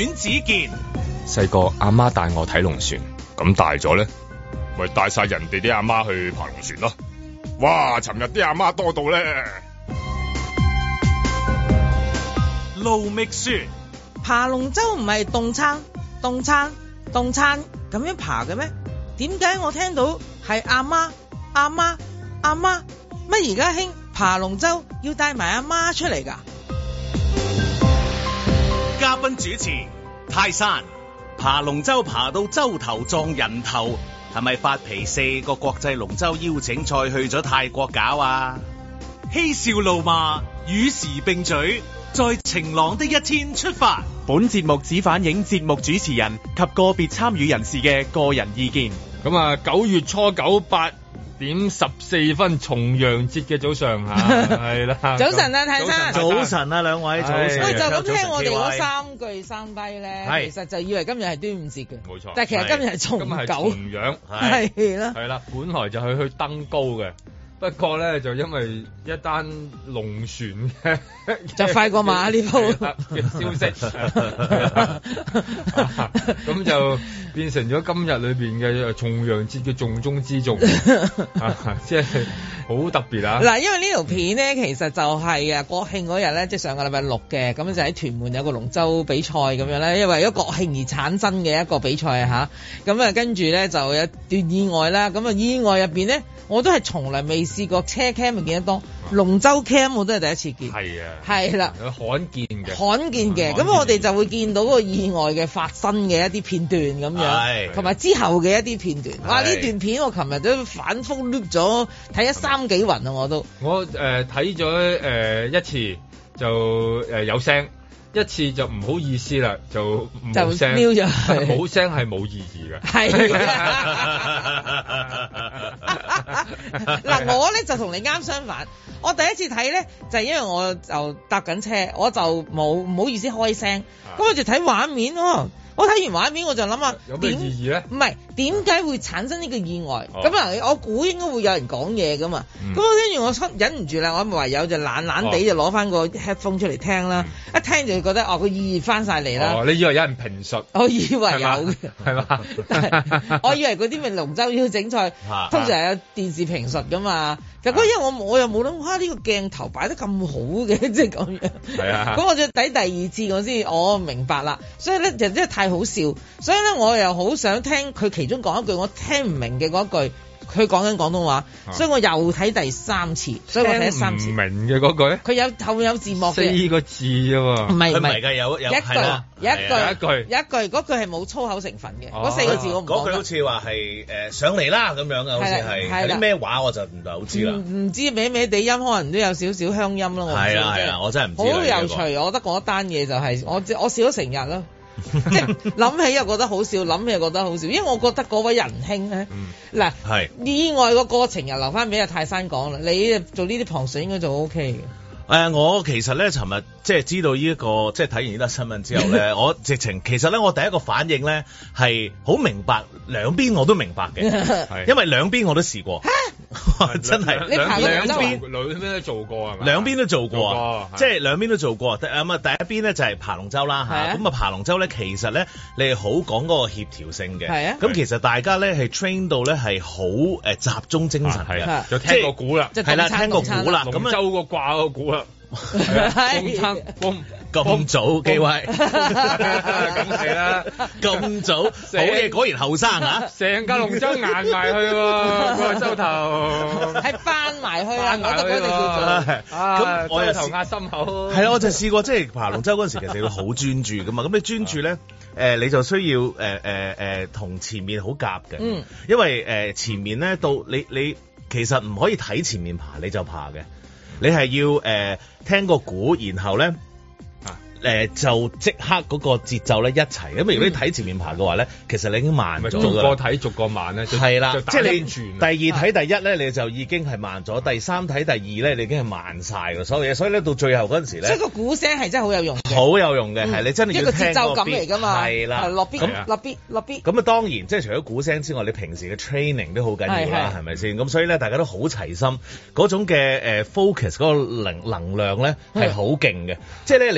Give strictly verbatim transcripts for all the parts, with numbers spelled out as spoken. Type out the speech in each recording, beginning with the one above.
阮子健。 細個阿媽帶我睇龍船，咁大咗咧，咪帶晒人哋啲阿媽去爬龍船咯。哇！尋日啲阿媽多到咧。 盧覓雪。 爬龍舟唔係凍撐凍撐凍撐咁樣爬嘅咩？點解我聽到係阿媽阿媽阿媽？乜而家興爬龍舟要帶埋阿媽出嚟㗎？ 嘉賓主持泰山。爬龍舟爬到洲頭撞人頭，係咪發脾四個國際龍舟邀請賽去咗泰國搞啊？嬉笑怒罵與時並舉，在晴朗的一天出發。 本節目只反映節目主持人及個別參與人士嘅個人意見。 咁啊，九月初九八點十四分重陽節嘅早上嚇，係啦。 早晨啊，泰山。 早晨啊，兩位早晨。 喂，就咁聽我哋嗰三句三低咧，其實就以為今日係端午節嘅。冇錯。但係其實今日係重九。今日係重陽。係啦。係啦，本來就係去登高嘅。不過咧，就因為一單龍船嘅就快過馬呢鋪嘅消息，咁就變成咗今日裏邊嘅重陽節嘅重中之重，即係好特別啊！ 嗱，因為呢條片咧，其實就係啊國慶嗰日咧，即係上個禮拜六嘅，咁就喺屯門有個龍舟比賽咁樣咧，因為為咗國慶而產生嘅一個比賽啊嚇，咁啊跟住咧就有段意外啦，咁啊意外入邊咧，我都係從來未試過車 cam 咪見得多，龍舟 cam 我都係第一次見。係啊，係啦， 罕見嘅， 罕見嘅。咁我哋就會見到個意外嘅發生嘅一啲片段咁樣，同埋之後嘅一啲片段。哇！呢段片我琴日都反覆 loop 咗，睇咗三幾雲啊！我都我誒睇咗誒一次就誒有聲。一次就唔好意思啦，就冇聲，冇聲係冇意義嘅。係嗱，我咧就同你啱相反。我第一次睇咧就係、是、因為我就搭緊車，我就冇唔好意思開聲，咁我就睇畫面咯。我睇完畫面我就諗下有咩意義咧？ 唔係點解會產生呢個意外？咁啊、哦，我估應該會有人講嘢噶嘛。咁、嗯、我跟住我出忍唔住啦，我唯有就懶懶地就攞翻個 headphone 出嚟聽啦。嗯、一聽就覺得哦，個意義翻晒嚟啦。 哦，你以為有人評述？ 我以為有嘅， 係嘛？ 我以為嗰啲咪龍舟邀請賽，通常有電視評述噶嘛。就嗰日我我又冇諗，哇！呢、這個鏡頭擺得咁好嘅，即係咁樣。係啊。咁我就睇第二次我先，我明白啦。所以咧就真係太好笑，所以咧我又好想聽佢其中講一句我聽唔明嘅嗰句，佢講緊廣東話，啊、所以我又睇第三次，所以我睇三次。唔明嘅嗰句，佢有後面有字幕嘅四個字啫嘛，唔係唔係㗎，有有一句有一句一句有一句嗰句係冇粗口成分嘅，嗰、哦、四個字我唔講。 嗰句好似話係誒上嚟啦咁樣嘅，好似係係啲咩話我就唔係好知啦。唔知咩咩地音，可能都有少少鄉音咯。係啦係啦，我真係唔知。好有趣，這個、我覺得嗰單嘢就係、是、我我笑咗成日咯。即係諗起又覺得好笑，諗起又覺得好笑，因為我覺得嗰位仁兄咧，嗱、嗯，意外個過程又留翻俾阿泰山講啦。你做呢啲旁述應該就 O K 嘅。誒、 呃，我其實咧，尋日即係知道呢、這、一個，即係睇完呢單新聞之後咧，我直情其實咧，我第一個反應咧係好明白，兩邊我都明白嘅，因為兩邊我都試過。真係兩邊兩邊都做過係咪？ 兩邊都做過啊，即係兩邊都做過。咁啊，第一邊咧就係爬龍舟啦嚇。咁啊，爬龍舟咧其實咧你係好講嗰個協調性嘅。係啊。咁其實大家咧係 train 到咧係好誒集中精神嘅。 就聽個鼓啦， 係啦，聽個鼓啦。 龍舟個掛個鼓啦。 係。 咁早機會， 咁係啦， 咁早，好嘢，果然後生啊！ 成架龍舟硬埋去喎，個舟頭係翻埋去啊！我覺得嗰隻叫做咁，我又頭壓心口。 係啊，我就試過即係爬龍舟嗰陣時，其實你要好專注噶嘛。咁你專注咧，誒你就需要誒誒誒同前面好夾嘅，嗯，因為誒前面咧到你你其實唔可以睇前面爬你就爬嘅，你係要誒聽個鼓，然後咧。誒、呃、就即刻嗰個節奏咧一齊，咁如果你睇前面爬嘅話咧，其實你已經慢咗。逐個睇逐個慢咧， 係啦，即係你第二睇第一咧，你就已經係慢咗；第三睇第二咧，你已經係慢晒㗎所有嘢。所以咧到最後嗰陣時咧， 所以個鼓聲係真係好有用嘅， 好有用嘅，係、嗯、你真係要聽個 beat，一個節奏感嚟㗎嘛，係啦，落 beat 落 beat 落 beat。咁啊當然即係除咗鼓聲之外，你平時嘅 training 都好緊要啦，係咪先？咁所以咧大家都好齊心，嗰種嘅誒 focus 嗰個能能量咧係好勁嘅，即係咧你又唔講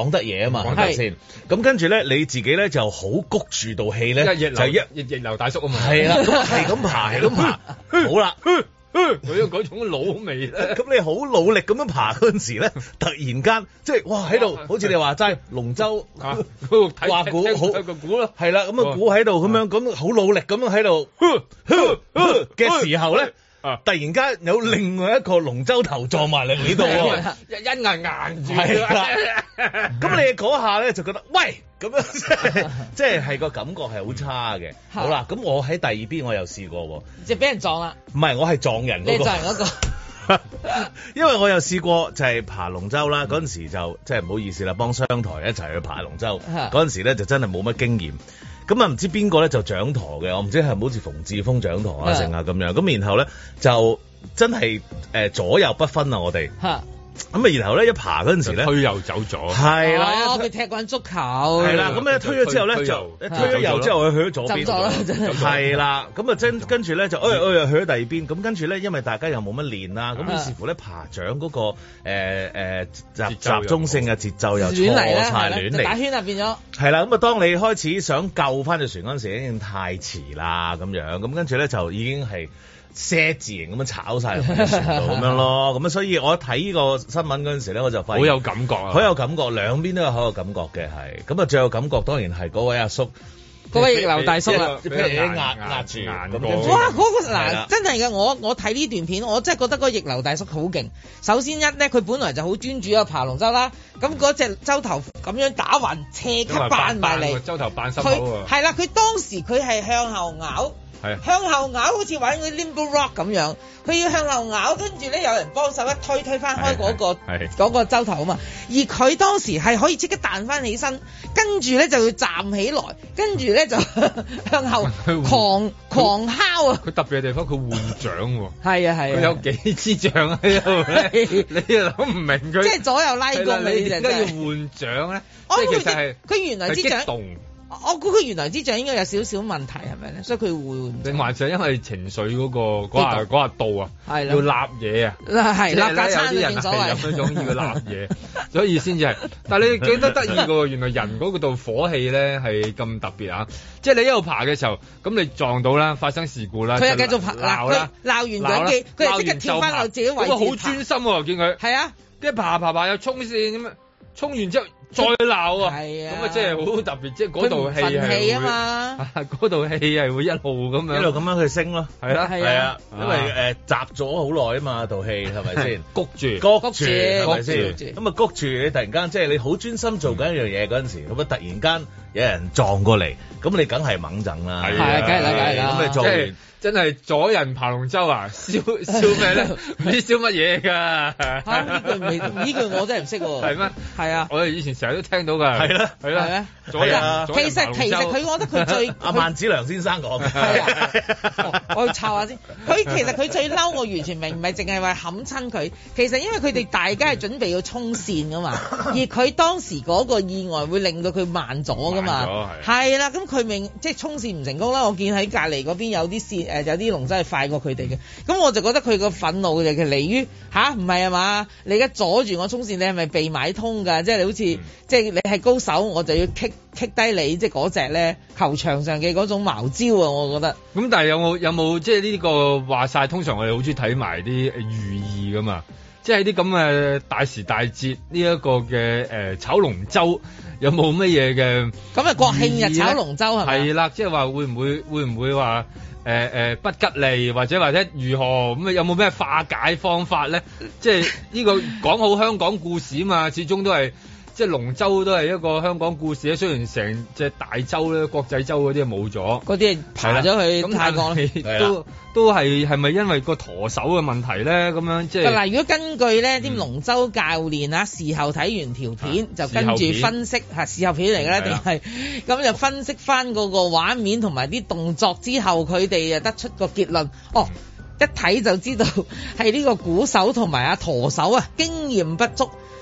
講得嘢啊嘛，係咪先？咁跟住咧，你自己咧就好谷住道氣咧，就一逆逆流大叔啊嘛，係啦，咁係咁爬，係咁爬，好啦。 佢有嗰種老味咧， 咁你好努力咁樣爬嗰陣時咧，突然間即係哇喺度，好似你話齋龍舟啊，掛鼓好個鼓咯，係啦，咁啊鼓喺度咁樣，咁好努力咁樣喺度嘅時候咧，突然間有另外一個龍舟頭撞埋嚟呢度喎， 一一硬硬住， 係啦，咁你嗰下咧就覺得喂。咁樣即係即係係個感覺係好差嘅。好啦，咁我喺第二邊我又試過喎， 即係俾人撞啦。 唔係，我係撞人嗰個。你撞人嗰個。因為我又試過就係爬龍舟啦，嗰陣時就即係唔好意思啦，幫商台一齊去爬龍舟。嗰陣時咧就真係冇乜經驗。咁啊唔知邊個咧就掌舵嘅，我唔知係唔好似馮志峰掌舵啊成啊咁樣。咁然後咧就真係誒左右不分啊我哋。咁啊，然後咧一爬嗰陣時咧， 推又走咗， 係啦， 佢踢慣足球， 係啦，咁咧推咗之後咧就推咗右之後，佢去咗左邊，係啦，咁啊真跟住咧就哎哎去咗第二邊，咁跟住咧因為大家又冇乜練啦，咁於是乎咧爬掌嗰個誒誒集集中性嘅節奏又錯晒亂嚟， 打圈啊變咗， 係啦，咁啊當你開始想救翻隻船嗰陣時，已經太遲啦咁樣，咁跟住咧就已經係。些字形咁樣炒晒入去船度咁樣咯，咁啊所以我睇呢個新聞嗰陣時咧，我就發現好有感覺啊， 好有感覺，兩邊都有好有感覺嘅係，咁啊最有感覺當然係嗰位阿叔， 嗰位逆流大叔啦， 俾人壓壓住，咁哇嗰個嗱真係嘅，我我睇呢段片，我真係覺得嗰個逆流大叔好勁。首先一咧，佢本來就好專注啊爬龍舟啦，咁嗰隻舟頭咁樣打橫斜級扮埋嚟， 舟頭扮心口喎， 係啦，佢當時佢係向後咬。向後咬好似玩嗰啲 limbo rock 咁樣，佢要向後咬，跟住咧有人幫手一推推翻開嗰、嗰個嗰個舟頭啊嘛，而佢當時係可以即刻彈翻起身，跟住咧就要站起來，跟住咧就向後狂狂敲啊！ 佢特別嘅地方，佢換掌喎， 係啊係啊， 佢有幾支掌喺度咧，你又諗唔明佢， 即係左右拉弓， 你點解要換掌咧？ 哦、 即係其實係佢原來支掌。我估佢原來支掌應該有少少問題係咪咧？所以佢會定還是因為情緒嗰、嗰個嗰下嗰下到啊，係要立嘢啊， 係立架餐有啲人係有嗰種要立嘢，所以先至係。但係你記得得意嘅喎，原來人嗰度火氣咧係咁特別啊！即係你一路爬嘅時候，咁你撞到啦，發生事故啦， 佢又繼續爬鬧啦，鬧完兩記，佢又即刻跳翻落自己位置， 好專心喎！見佢係啊， 跟住爬爬爬又衝線咁樣，衝完之後。再鬧啊！係啊，咁啊即係好特別，即係嗰度氣係啊嘛，嗰度氣係會一路咁樣一路咁樣去升咯， 係啦係啊， 因為誒集咗好耐啊嘛，道氣係咪先？ 谷住谷住係咪先？咁啊谷住你突然間即係你好專心做緊一樣嘢嗰陣時，咁啊突然間有人撞過嚟，咁你梗係猛震啦， 係啊，梗係啦，梗係啦， 咁你做完。 真係阻人爬龍舟啊！燒燒咩咧？唔知燒乜嘢㗎？ 嚇呢句未？呢句我真係唔識喎。 係咩？ 係啊！ 我哋以前成日都聽到㗎。係啦，係啦。係咩？阻人啊！ 其實其實佢，我覺得佢最阿萬梓良先生講嘅。係啊！ 我要抄下先。佢其實佢最嬲，我完全明，唔係淨係話冚親佢。其實因為佢哋大家係準備要衝線㗎嘛，而佢當時嗰個意外會令到佢慢咗㗎嘛。慢咗係。係啦，咁佢明即係衝線唔成功啦。我見喺隔離嗰邊有啲線。誒有啲龍舟係快過佢哋嘅，咁我就覺得佢個憤怒就係嚟於吓，唔係啊嘛？你而家阻住我衝線，你係咪被買通㗎？即係你好似、嗯、即係你係高手，我就要棘棘低你，即係嗰隻咧球場上嘅嗰種茅招啊！我覺得。咁但係有冇有冇即係呢個話晒？通常我哋好中意睇埋啲寓意㗎嘛，即係啲咁嘅大時大節呢一個嘅誒炒龍舟。有冇乜嘢嘅？咁啊國慶日炒龍舟係咪？係啦，即係話會唔會會唔會話誒誒不吉利，或者或者如何咁啊？有冇咩化解方法咧？即係呢個講好香港故事啊嘛，始終都係即係龍舟都係一個香港故事咧。雖然成隻大洲咧國際洲嗰啲冇咗，嗰啲爬咗去泰國都都係係咪因為個舵手嘅問題咧？咁樣即係嗱，如果根據咧啲龍舟教練啊，事後睇完條片、啊、就跟住分析嚇事後片嚟嘅咧，定係咁就分析翻嗰個畫面同埋啲動作之後，佢哋就得出個結論。哦，一睇就知道係呢個鼓手同埋阿舵手啊經驗不足。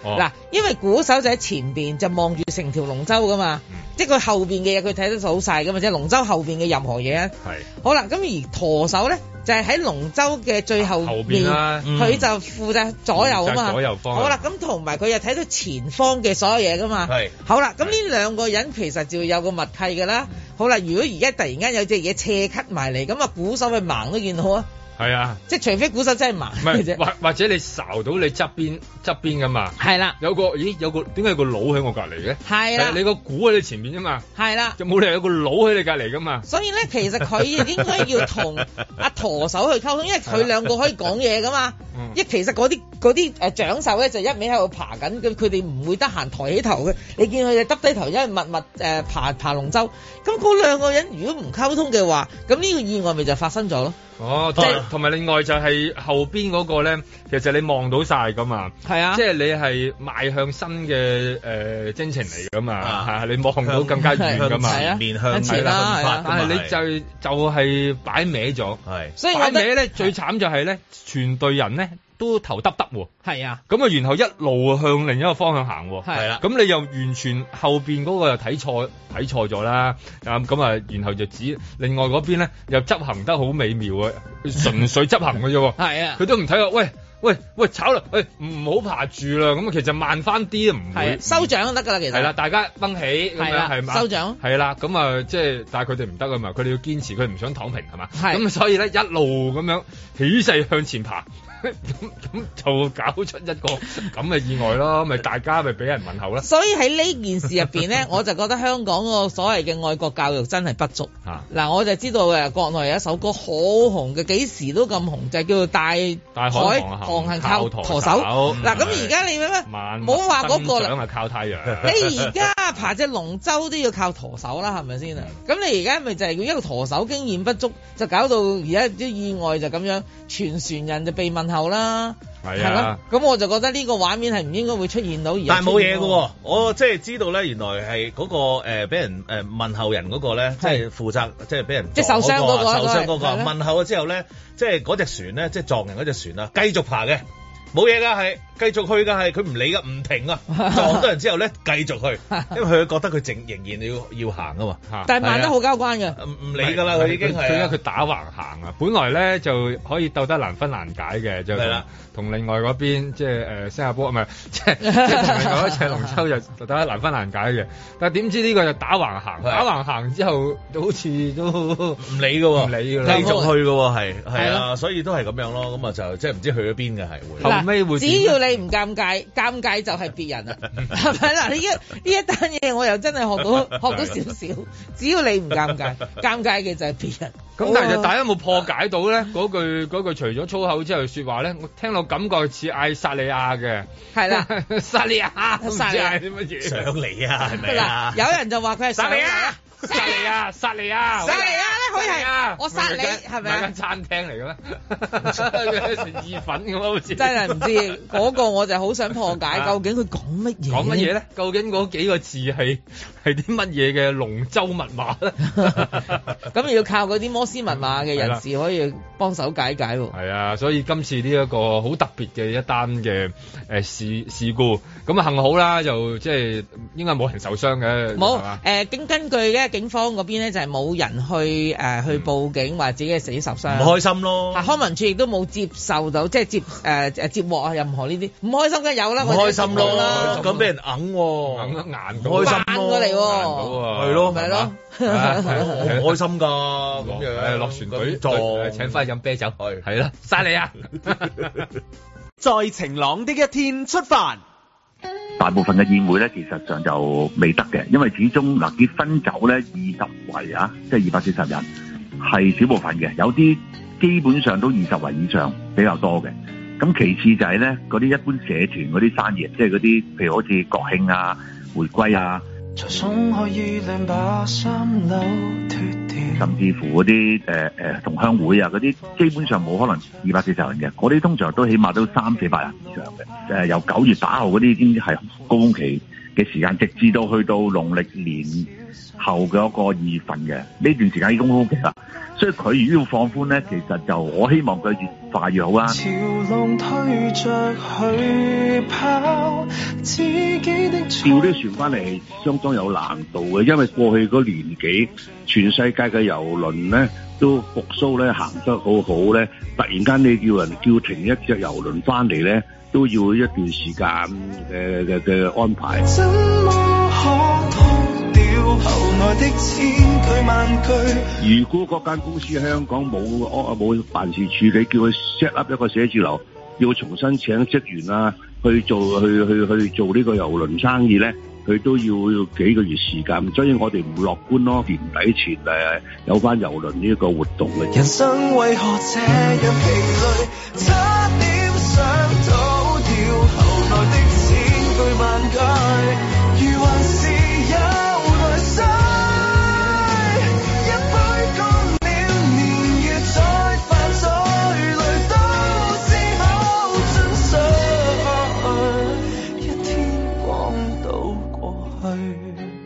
嗱、哦，因為鼓手就喺前邊就望住成條龍舟噶嘛，嗯、即係佢後邊嘅嘢佢睇得到晒噶嘛，即係龍舟後邊嘅任何嘢啊。係。好啦，咁而舵手咧就係喺龍舟嘅最後面，後邊啦，佢、嗯、就負責左右啊嘛。左右方。好啦，咁同埋佢又睇到前方嘅所有嘢噶嘛。係。好啦，咁呢兩個人其實就有個默契噶啦。好啦，如果而家突然間有隻嘢斜咳埋嚟，咁啊鼓手咪盲都見到啊。係啊，即係除非鼓手真係盲嘅啫，或或者你睄到你側邊側邊噶嘛，係啦，有個咦有個點解有個佬喺我隔離嘅？係啦，你個鼓喺你前面啫嘛，係啦，就冇理由有個佬喺你隔離噶嘛。所以咧，其實佢應該要同阿舵手去溝通，因為佢兩個可以講嘢噶嘛。因為其實嗰啲嗰啲誒掌手咧就一味喺度爬緊，咁佢哋唔會得閒抬起頭嘅。你見佢哋耷低頭，因為密密誒爬爬龍舟。咁嗰兩個人如果唔溝通嘅話，咁呢個意外咪就發生咗咯。哦，即係同埋另外就係後邊嗰個咧，其實你望到晒噶嘛，係啊，即係你係邁向新嘅誒征程嚟噶嘛，係啊，你望到更加遠噶嘛，面向前啦，係啊，但係你就就係擺歪咗，係，所以擺歪咧最慘就係咧，全隊人咧都頭耷耷喎，係啊，咁啊然後一路向另一個方向行，係啦，咁你又完全後邊嗰個又睇錯睇錯咗啦，咁咁啊，然後就指另外嗰邊咧又執行得好美妙啊，純粹執行嘅啫，係啊，佢都唔睇話，喂喂喂炒啦，喂唔好爬住啦，咁啊其實慢翻啲都唔會收獎就得噶啦，其實係啦，大家繃起咁樣係嘛，收獎係啦，咁啊即係但係佢哋唔得啊嘛，佢哋要堅持，佢唔想躺平係嘛，咁所以咧一路咁樣起勢向前爬。咁咁就搞出一個咁嘅意外咯，咪大家咪俾人問候啦。所以喺呢件事入邊咧，我就覺得香港個所謂嘅愛國教育真係不足。嗱、啊，我就知道誒，國內有一首歌好紅嘅，幾時都咁紅，就係、叫做大大海航行靠舵手。嗱，咁而家你咩咩？冇話嗰個啦。想係靠太陽。你而家爬隻龍舟都要靠舵手啦，係咪先啊？咁你而家咪就係一個舵手經驗不足，就搞到而家啲意外就咁樣，全船人就被問候啦，係啊，咁我就覺得呢個畫面係唔應該會出現到而。但係冇嘢嘅，我即係知道咧，原來係嗰、嗰個誒俾、呃、人誒、呃、問候人嗰個咧，即係負責即係俾人即係受傷嗰個，受傷嗰個問候咗之後咧，即係嗰隻船咧，即係撞人嗰隻船啊，繼續爬嘅。冇嘢噶，係繼續去噶，係佢唔理噶，唔停啊！撞到人之後咧，繼續去，因為佢覺得佢淨仍然要要行啊嘛。但係慢得好交關嘅，唔唔理噶啦，佢已經係。佢因為佢打橫行啊，本來咧就可以鬥得難分難解嘅，就係啦。同另外嗰邊即係誒新加坡唔係，即係即係同另外一隻龍舟就鬥得難分難解嘅。但係點知呢個就打橫行，打橫行之後好似都唔理噶，唔理噶啦，繼續去噶，係係啊，所以都係咁樣咯。咁啊就即係唔知去咗邊嘅係會。只要你唔尷尬，尷尬就係別人啊，係咪嗱？呢一呢一單嘢我又真係學到學到少少。只要你唔尷尬，尷尬嘅就係別人。咁但係大家有冇破解到咧？嗰句嗰句除咗粗口之後説話咧，我聽落感覺似嗌薩利亞嘅。係啦，薩利亞，薩利亞啲乜嘢？上嚟啊，係咪啊？有人就話佢係薩利亞。薩利亞，薩利亞，薩利亞咧，佢係我殺你，係咪啊？間餐廳嚟嘅咩？食意粉咁好似。真係唔知嗰個，我就好想破解，究竟佢講乜嘢？講乜嘢咧？究竟嗰幾個字係係啲乜嘢嘅龍舟密碼咧？咁要靠嗰啲摩斯密碼嘅人士可以幫手解解喎。係啊，所以今次呢一個好特別嘅一單嘅誒事事故，咁啊幸好啦，就即係應該冇人受傷嘅。冇誒，經根據嘅。警方嗰邊咧就係冇人去誒、呃、去報警話自己係死受傷，唔開心咯。康文署亦都冇接受到，即係接誒誒、呃、接獲啊任何呢啲唔開心嘅有啦，唔開心咯啦，咁俾人揞喎，揞得硬到，開心過嚟喎，係咯，咪咯，好開心㗎，咁樣落船隊坐請翻去飲啤酒，係係啦，晒你啊！在晴朗的一天出發。 大部分嘅宴會咧，其實上就未得嘅，因為始終嗱結婚酒咧二十圍啊，即係二百四十人係少部分嘅，有啲基本上都二十圍以上比較多嘅。咁其次就係咧嗰啲一般社團嗰啲生意，即係嗰啲譬如好似國慶啊、回歸啊，甚至乎嗰啲誒誒同鄉會啊嗰啲，基本上冇可能二百四十人嘅，嗰啲通常都起碼都三四百人以上嘅。誒、呃、由九月打後嗰啲已經係高峰期嘅時間，直至到去到農曆年後嘅一個二月份嘅呢段時間已經高峰期啦。 所以佢如果要放寬咧，其實就我希望佢越快越好啊。潮浪推着去跑，自己的調啲船翻嚟係相當有難度嘅，因為過去嗰年幾全世界嘅郵輪咧都復甦咧行得好好咧，突然間你叫人叫停一隻郵輪翻嚟咧，都要一段時間嘅嘅嘅安排。如果嗰間公司喺香港冇冇辦事處理，叫佢 set up 一個寫字樓，要重新請職員啊，去做去去去做呢個郵輪生意咧，佢都要要幾個月時間，所以我哋唔樂觀咯。年底前誒有翻郵輪呢一個活動嘅。人生為何這樣疲累，差點想逃掉後來的千句萬句，如還是有來世，一杯乾了，年月再犯罪，淚都只好盡碎，一天光倒過去。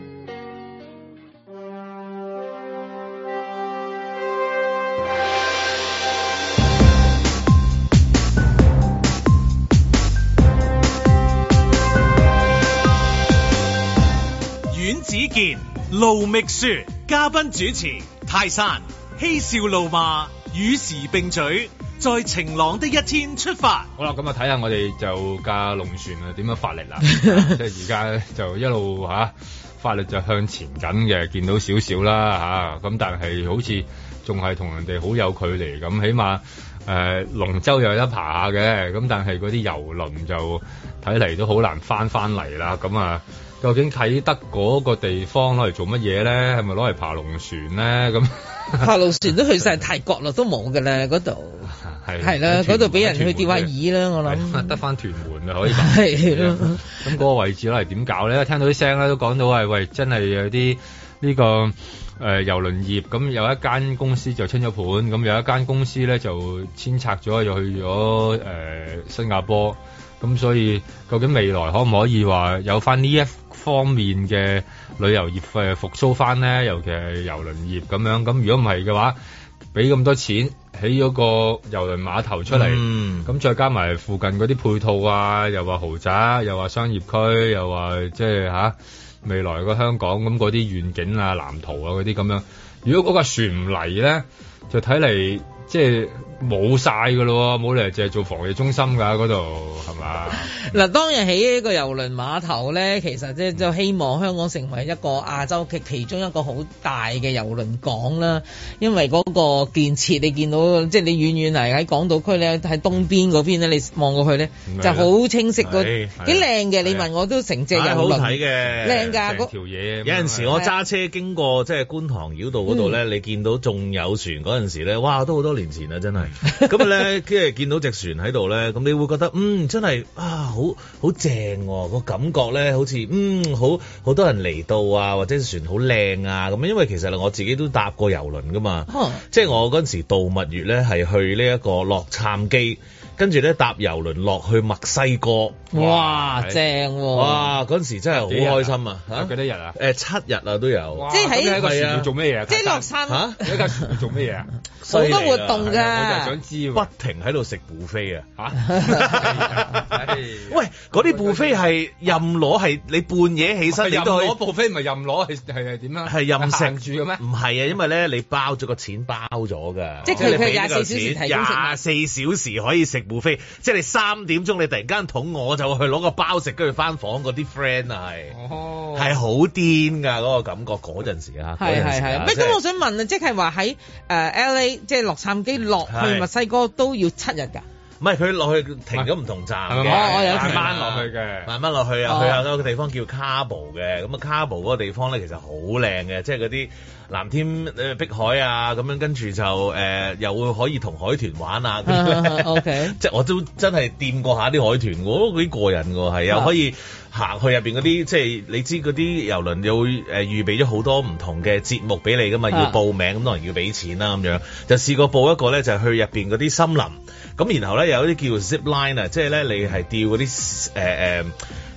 阮子健、盧覓雪，嘉賓主持泰山，嬉笑怒罵，與時並舉，在晴朗的一天出發。 好啦，咁啊睇下我哋就架龍船啊點樣發力啦，即係而家就一路吓、啊、發力就向前緊嘅，見到少少啦吓，咁、啊、但係好似仲係同人哋好有距離咁，起碼誒龍舟又有得爬下嘅，咁但係嗰啲郵輪就睇嚟都好難翻翻嚟啦，咁啊。究竟啟德嗰個地方攞嚟做乜嘢咧？係咪攞嚟爬龍船咧？咁爬龍船都去晒泰國啦，都冇㗎啦嗰度。係係啦，嗰度俾人去釣下魚啦，我諗。得翻屯門啊，可以。係咯。咁嗰個位置攞嚟點搞咧？聽到啲聲咧，都講到係喂，真係有啲呢個誒郵輪業咁，有一間公司就清咗盤，咁有一間公司咧就遷拆咗，又去咗誒新加坡。咁所以究竟未來可唔可以話有翻呢一方面嘅旅遊業誒復甦翻咧？尤其係郵輪業咁樣。咁如果唔係嘅話，俾咁多錢起咗個郵輪碼頭出嚟，咁、嗯、再加埋附近嗰啲配套啊，又話豪宅，又話商業區，又話即係嚇未來個香港咁嗰啲願景啊、藍圖啊嗰啲咁樣。如果嗰個船唔嚟咧，就睇嚟即係冇晒㗎咯，冇理由淨係做防疫中心㗎嗰度，係嘛？嗱，當日起呢個郵輪碼頭咧，其實即係就希望香港成為一個亞洲嘅其中一個好大嘅郵輪港啦。因為嗰個建設，你見到即係你遠遠嚟喺港島區咧，喺東邊嗰邊咧，你望過去咧就好清晰，個幾靚嘅。你問我都成隻郵輪，好睇嘅，靚㗎嗰條嘢。有陣時我揸車經過即係觀塘繞道嗰度咧，你見到仲有船嗰陣時咧，哇！都好多年前啦，真係。咁咧，跟住見到隻船喺度咧，咁你會覺得嗯真係啊，好好正喎，個感覺咧，好似嗯好好多人嚟到啊，或者船好靚啊咁。因為其實我自己都搭過郵輪噶嘛，嗯、即係我嗰陣時度蜜月咧係去呢一個洛杉磯。跟住咧搭郵輪落去墨西哥，哇正喎！哇嗰陣時真係好開心啊！嚇幾多日啊？誒七日啊都有。即係喺一個船要做咩嘢？即係落山嚇？一架船要做咩嘢啊？好多活動㗎！我就係想知，不停喺度食 buffet 啊！嚇！喂，嗰啲 buffet 係任攞，係你半夜起身你都可以。攞 buffet 唔係任攞，係係係點啊？係任食住嘅咩？唔係啊，因為咧你包咗個錢包咗㗎，即係佢佢廿四小時提供食，廿四小時可以食。buffet 即係你三點鐘你突然間肚餓就去攞個包食，跟住翻房嗰啲 friend 啊係，係好癲㗎嗰個感覺嗰陣時啊，係係係。咩咁我想問啊，即係話喺誒 L A 即係洛杉磯落去墨西哥都要七日㗎？唔係佢落去停咗唔同站嘅，我有慢慢落去嘅，慢慢落去啊，去下嗰個地方叫 Cabo 嘅，咁啊 Cabo 嗰個地方咧其實好靚嘅，即係嗰啲藍天誒碧海啊，咁樣跟住就誒、呃、又會可以同海豚玩啊，咁樣 OK，即係我都真係掂過下啲海豚，我都幾過癮㗎，係又可以行去入邊嗰啲，即係你知嗰啲郵輪又會誒預備咗好多唔同嘅節目俾你㗎嘛，要報名咁當然要俾錢啦咁樣，就試過報一個咧就係去入邊嗰啲森林。咁然後咧有啲叫 zip line 啊，即係咧你係吊嗰啲誒誒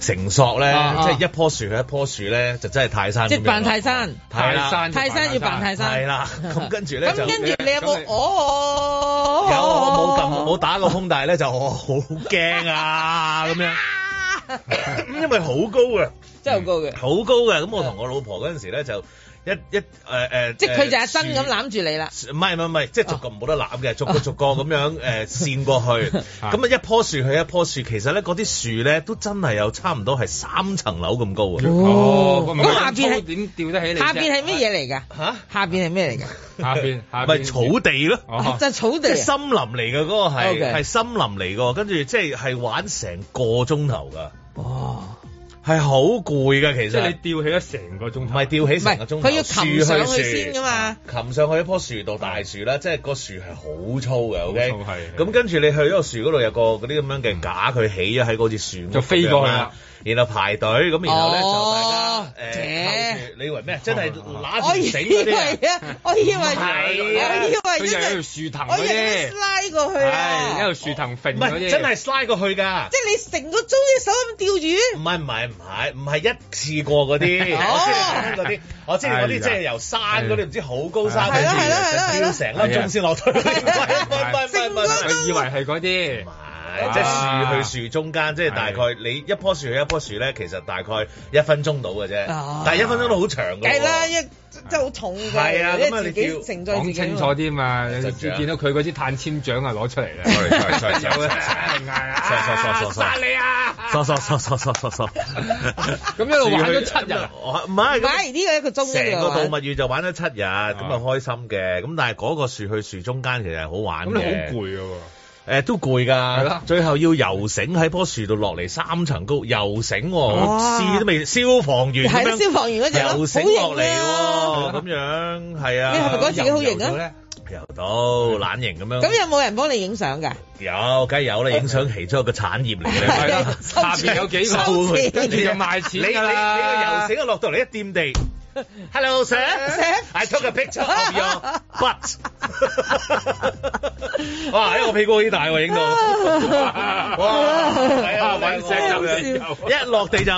繩索咧，即係一棵樹去一棵樹咧，就真係泰山。 即係扮泰山， 泰山， 泰山要扮泰山。 係啦，咁跟住咧就。咁跟住你有冇？哦， 有我冇撳冇打過風，但係咧就我好驚啊咁樣。因為好高嘅， 真係好高嘅， 好高嘅。咁我同我老婆嗰陣時咧就。一一誒誒，呃、即係佢就係身咁攬住你啦。 唔係唔係唔係，即係逐個冇得攬嘅，逐個逐個咁樣誒跣過去。咁啊一棵樹去一棵樹，其實咧嗰啲樹咧都真係有差唔多係三層樓咁高啊。 哦， 咁下邊係點吊得起你？ 下邊係咩嘢嚟㗎？嚇，下邊係咩嚟㗎？ 下邊下咪草地咯， 就係草地， 即係森林嚟嘅嗰個係係森林嚟嘅，跟住即係係玩成個鐘頭㗎。哇！係好攰㗎，其實。即係你吊起咗成個鐘頭。唔係吊起成個鐘頭。 佢要擒上去先㗎嘛。 擒上去一棵樹度，大樹啦，即係個樹係好粗嘅，OK。 係。 咁跟住你去嗰個樹嗰度有個嗰啲咁樣嘅架，佢起咗喺嗰支樹。 就飛過去啦。 然後排隊，咁然後咧就大家誒靠住，你以為咩？真係揦住繩嗰啲啊！ 我以為係， 我以為佢就喺條樹藤嗰啲拉過去啊！ 係一條樹藤揈嗰啲，真係拉過去㗎。 即係你成個鐘隻手咁吊住？ 唔係唔係唔係唔係一次過嗰啲，我知你講嗰啲，我知你嗰啲即係由山嗰啲唔知好高山嗰啲吊成粒鐘先落去。唔係唔係唔係， 佢以為係嗰啲。 即係樹去樹中間，即係大概你一棵樹去一棵樹咧，其實大概一分鐘到嘅啫。但係一分鐘都好長㗎。係啦，一真係好重㗎。係啊，咁啊你叫講清楚啲嘛？你見到佢嗰支碳纖獎啊攞出嚟啦。 sorry sorry sorry sorry。 傻傻傻傻殺你啊！ 傻傻傻傻傻傻傻。 咁一路玩咗七日。 唔係， 唔係呢個一個鐘。 成個動物園就玩咗七日，咁啊開心嘅。咁但係嗰個樹去樹中間其實係好玩嘅。 咁你好攰㗎喎。 誒都攰㗎，最後要游繩喺棵樹度落嚟三層高，游繩我試都未，消防員咁樣， 消防員嗰隻游繩落嚟喎，咁樣係啊。 你係咪覺得自己好型啊？ 游到懶型咁樣。 咁有冇人幫你影相㗎？ 有，梗係有啦，影相其中一個產業嚟嘅。係啦， 下邊有幾個，跟住就賣錢㗎啦。 你你個游繩一落到嚟一掂地。Hello, sir. I took a picture of your butt. 哇！一個屁股好大喎，影到。哇！係啊，揾聲咁樣，一落地就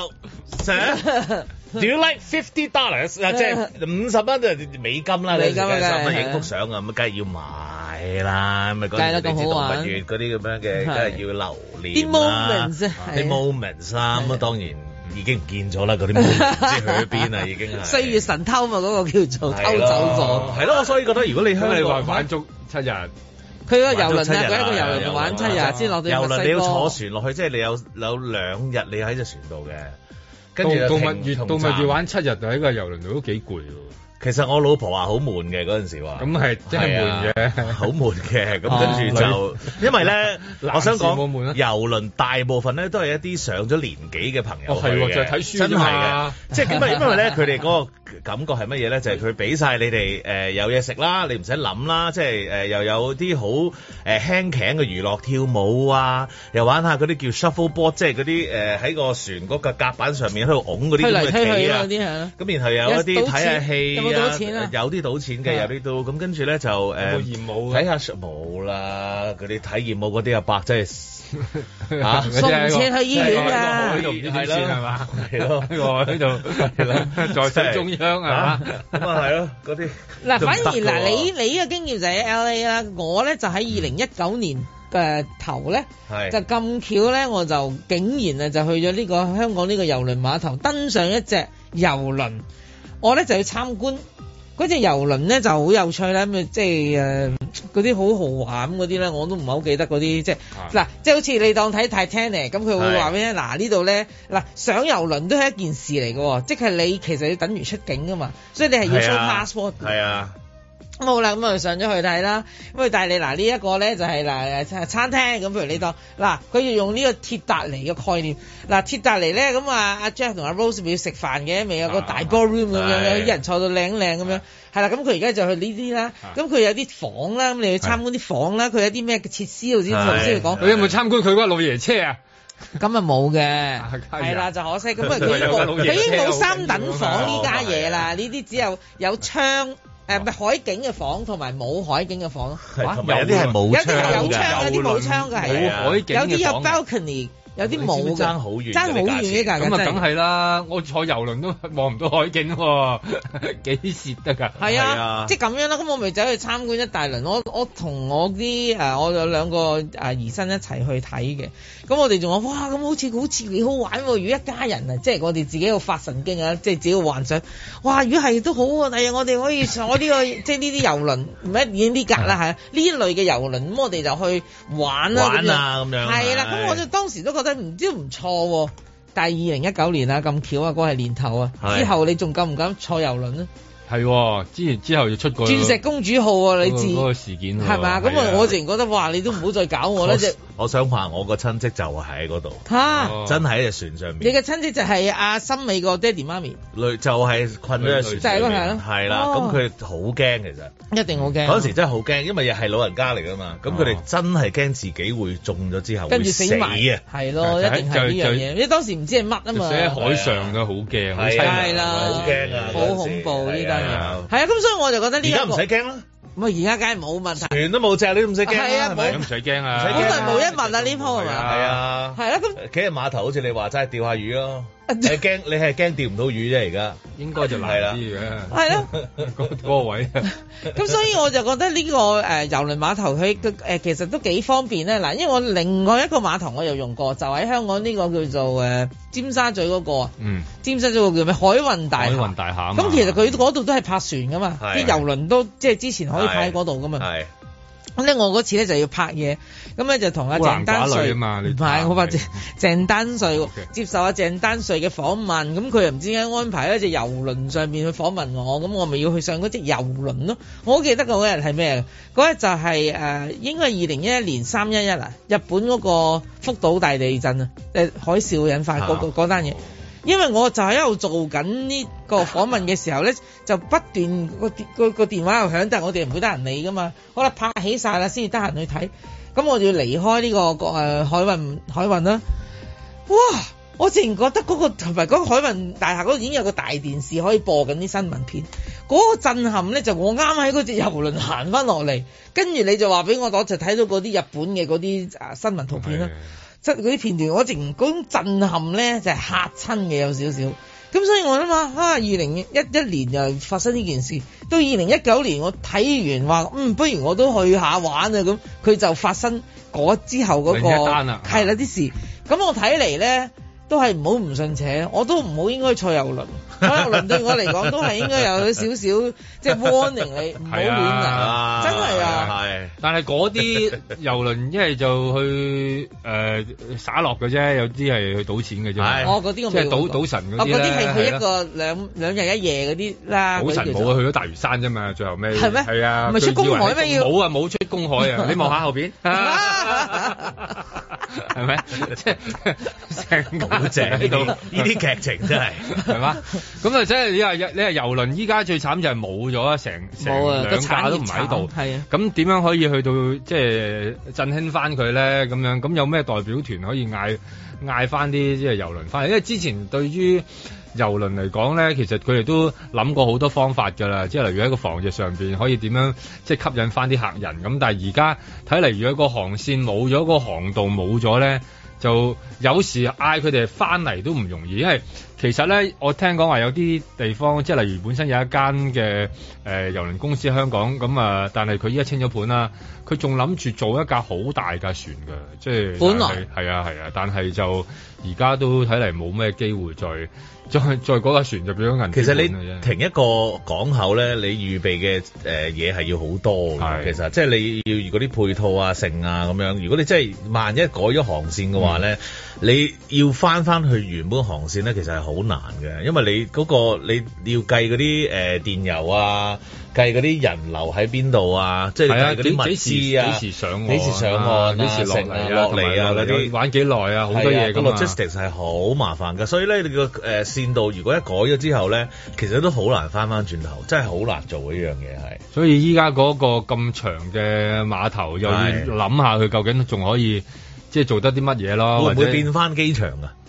Sir, do you like fifty dollars？ 啊，即係五十蚊就美金啦，美金啊，十蚊影幅相啊，咁梗係要買啦，咁啊嗰啲你知動物園嗰啲咁樣嘅，梗係要留念啦，啲 moments 啦，咁啊當然。已經唔見咗啦，嗰啲唔知去咗邊啦，已經係歲月神偷嘛，嗰、那個叫做偷走咗。 係咯，我所以覺得如果你香港你話玩足七日， 佢個遊輪啊，佢一個遊輪玩七日先落到墨西哥。遊輪你要坐船落去，即係你有有兩日你喺隻船度嘅，跟住動物園動物園玩七日就喺個遊輪度都幾攰喎。 其實我老婆話好悶嘅嗰陣時話， 咁係真係悶嘅， 好悶嘅。咁跟住就，因為咧，我想講遊輪大部分咧都係一啲上咗年紀嘅朋友去嘅， 就係睇書真係嘅。即係因為因為咧，佢哋嗰個感覺係乜嘢咧？就係佢俾晒你哋誒有嘢食啦，你唔使諗啦。即係誒又有啲好誒輕鬆嘅娛樂，跳舞啊，又玩下嗰啲叫 shuffleboard，即係嗰啲誒喺個船嗰個甲板上面喺度拱嗰啲咁嘅棋啊。咁然後有一啲睇下戲。有啲賭錢啊！有啲賭錢嘅，有啲都咁跟住咧就誒睇下冇啦，嗰啲體驗舞嗰啲阿伯真係嚇送唔切去醫院啊！ 喺度唔知點算係嘛？ 係咯，我喺度係啦，在水中央係嘛？咁啊係咯，嗰啲嗱反而嗱你你嘅經驗就喺 L A 啦，我咧就喺二零一九年嘅頭咧就咁巧咧，我就竟然啊就去咗呢個香港呢個郵輪碼頭登上一隻郵輪。我咧就要參觀嗰隻遊輪咧就好有趣啦，咁啊即係誒嗰啲好豪華咁嗰啲咧，我都唔係好記得嗰啲即係嗱，啊、即係好似你當睇 Titanic 咁，佢會話俾你嗱呢度咧嗱上遊輪都係一件事嚟嘅，即係你其實要等於出境噶嘛，所以你係要 show passport。係啊。咁好啦，咁我哋上咗去睇啦。咁佢帶你嗱呢一個咧就係嗱誒餐廳咁，譬如你當嗱佢要用呢個鐵達尼嘅概念。嗱鐵達尼咧咁啊阿 Jack 同阿 Rose 咪要食飯嘅，咪有個大 ballroom 咁樣樣，一人坐到靚靚咁樣。係啦，咁佢而家就去呢啲啦。咁佢有啲房啦，咁你去參觀啲房啦。佢有啲咩嘅設施，頭先頭先講。 佢有冇參觀佢嗰個老爺車啊？ 咁啊冇嘅，係啦就可惜。咁啊佢冇，佢已經冇三等房呢家嘢啦。呢啲只有有窗。誒咪海景嘅房同埋冇海景嘅房， 同埋有啲係冇窗嘅， 有啲有窗，有啲冇窗嘅係， 冇海景嘅房， 有啲有 balcony 有啲冇嘅， 爭好遠， 爭好遠嘅價格。 咁啊，梗係啦！我坐遊輪都望唔到海景喎，幾蝕得㗎？係啊，即係咁樣啦。咁我咪走去參觀一大輪。我我同我啲誒，我有兩個誒兒孫一齊去睇嘅。咁我哋仲話哇，咁好似好似幾好玩喎！如果一家人啊，即係我哋自己要發神經啊，即係自己要幻想。哇！如果係都好喎，第日我哋可以坐呢個即係呢啲遊輪，唔係已經呢格啦，係呢一類嘅遊輪。咁我哋就去玩啦， 玩啊咁樣。 係啦，咁我就當時都覺得唔知唔錯喎。但係二零一九年啊，咁巧啊，嗰個係年頭啊，之後你仲敢唔敢坐遊輪咧？ 係，之前之後就出過鑽石公主號啊，你知嗰個事件係嘛？咁啊，我自然覺得哇，你都唔好再搞我啦！ 我想話我個親戚就係喺嗰度， 嚇， 真係喺隻船上面。 你嘅親戚就係阿森美個爹哋媽咪， 類就係困咗隻船上面，係啦。咁佢好驚其實， 一定好驚。 嗰陣時真係好驚，因為又係老人家嚟㗎嘛。咁佢哋真係驚自己會中咗之後跟住死埋啊！ 係咯，一定係呢樣嘢。因為當時唔知係乜啊嘛。 喺海上都好驚， 係啦， 好驚啊， 好恐怖呢單嘢。係啊，咁所以我就覺得呢而家唔使驚啦。 咁啊，而家梗係冇問題， 船都冇隻，你都唔使驚啦，係咪？ 唔使驚啊， 本來無一物啊，呢鋪係咪？ 係啊， 係啦，咁企喺碼頭好似你話齋釣下魚咯。你驚你係驚釣唔到魚啫，而家應該就難啲嘅。 係咯， 嗰嗰個位。 咁所以我就覺得呢個誒遊輪碼頭佢誒其實都幾方便咧。嗱，因為我另外一個碼頭我又用過，就喺香港呢個叫做誒尖沙咀嗰個。嗯。尖沙咀嗰個叫咩？海運大廈。海運大廈。咁其實佢嗰度都係泊船噶嘛，啲遊輪都即係之前可以泊喺嗰度噶嘛。係。咁咧，我嗰次咧就要拍嘢，咁咧就同阿鄭丹瑞，唔係我話鄭鄭丹瑞 Okay. 接受阿鄭丹瑞嘅訪問，咁佢又唔知點解安排喺隻遊輪上面去訪問我，咁我咪要去上嗰隻遊輪咯。我好記得嗰日係咩？嗰日就係、是、誒、呃，應該係二零一一年三一一啊，日本嗰個福島大地震啊，誒海嘯引發嗰嗰單嘢。因為我就喺度做緊呢個訪問嘅時候咧，就不斷個個個電話又響，但係我哋唔會得閒理噶嘛。好啦，拍起晒啦，先至得閒去睇。咁我就要離開呢、這個個誒、呃、海運海運啦。哇！我自然覺得嗰、那個同埋嗰個海運大廈嗰度已經有個大電視可以播緊啲新聞片。嗰、那個震撼咧，就我啱喺嗰隻遊輪行翻落嚟，跟住你就話俾我，我就睇到嗰啲日本嘅嗰啲啊新聞圖片啦。即係嗰啲片段，我淨嗰種震撼咧就係嚇親嘅有少少，咁所以我諗下，啊二零一一年又發生呢件事，到二零一九年我睇完話，嗯，不如我都去下玩啊，咁佢就發生嗰之後嗰、嗰個係啦啲事，咁我睇嚟咧都係唔好唔信邪，我都唔好應該坐遊輪。坐遊輪對我嚟講都係應該有少少即係 warning 你唔好亂嚟，真係啊！係， 但係嗰啲遊輪一係就去誒灑落嘅啫，有啲係去賭錢嘅啫。 我嗰啲我即係賭賭神嗰啲咧。 嗰啲係去一個兩兩日一夜嗰啲啦。 賭神冇啊，去咗大嶼山啫嘛，最後尾係咩？ 係啊， 唔係出公海咩？要冇啊，冇出公海啊！你望下後邊，係咪？即係成好正呢度呢啲劇情真係係嘛？咁啊，即係你話你話遊輪依家最慘就係冇咗啊，成成兩架都唔喺度。係啊，咁點樣可以去到即係振興翻佢咧？咁樣咁有咩代表團可以嗌嗌翻啲即係遊輪翻嚟？因為之前對於遊輪嚟講咧，其實佢哋都諗過好多方法㗎啦，即係例如喺個防疫上邊可以點樣即係吸引翻啲客人。咁但係而家睇嚟，如果個航線冇咗，個航道冇咗咧，就有時嗌佢哋翻嚟都唔容易，因為其實咧，我聽講話有啲地方，即係例如本身有一間嘅誒郵輪公司喺香港，咁啊，但係佢依家清咗盤啦，佢仲諗住做一架好大架船嘅，即係本來係啊係啊，但係就而家都睇嚟冇咩機會再再再嗰架船就變咗銀。 其實你停一個港口咧，你預備嘅誒嘢係要好多嘅，的其實即係你要嗰啲配套啊、剩啊咁樣。如果你真係萬一改咗航線嘅話咧，嗯、你要翻翻去原本航線咧，其實係好難嘅，因為你嗰、嗰個你要計嗰啲誒電油啊，計嗰啲人流喺邊度啊，即係計嗰啲物資啊， 幾時上岸， 幾時上岸，幾時落嚟落嚟啊，嗰啲玩幾耐啊，好多嘢㗎嘛。 logistics 係好麻煩㗎，所以咧你個誒線道如果一改咗之後咧，其實都好難翻翻轉頭，真係好難做呢樣嘢係。 所以依家嗰個咁長嘅碼頭又要諗下佢究竟仲可以即係做得啲乜嘢咯？ 會唔會變翻機場啊？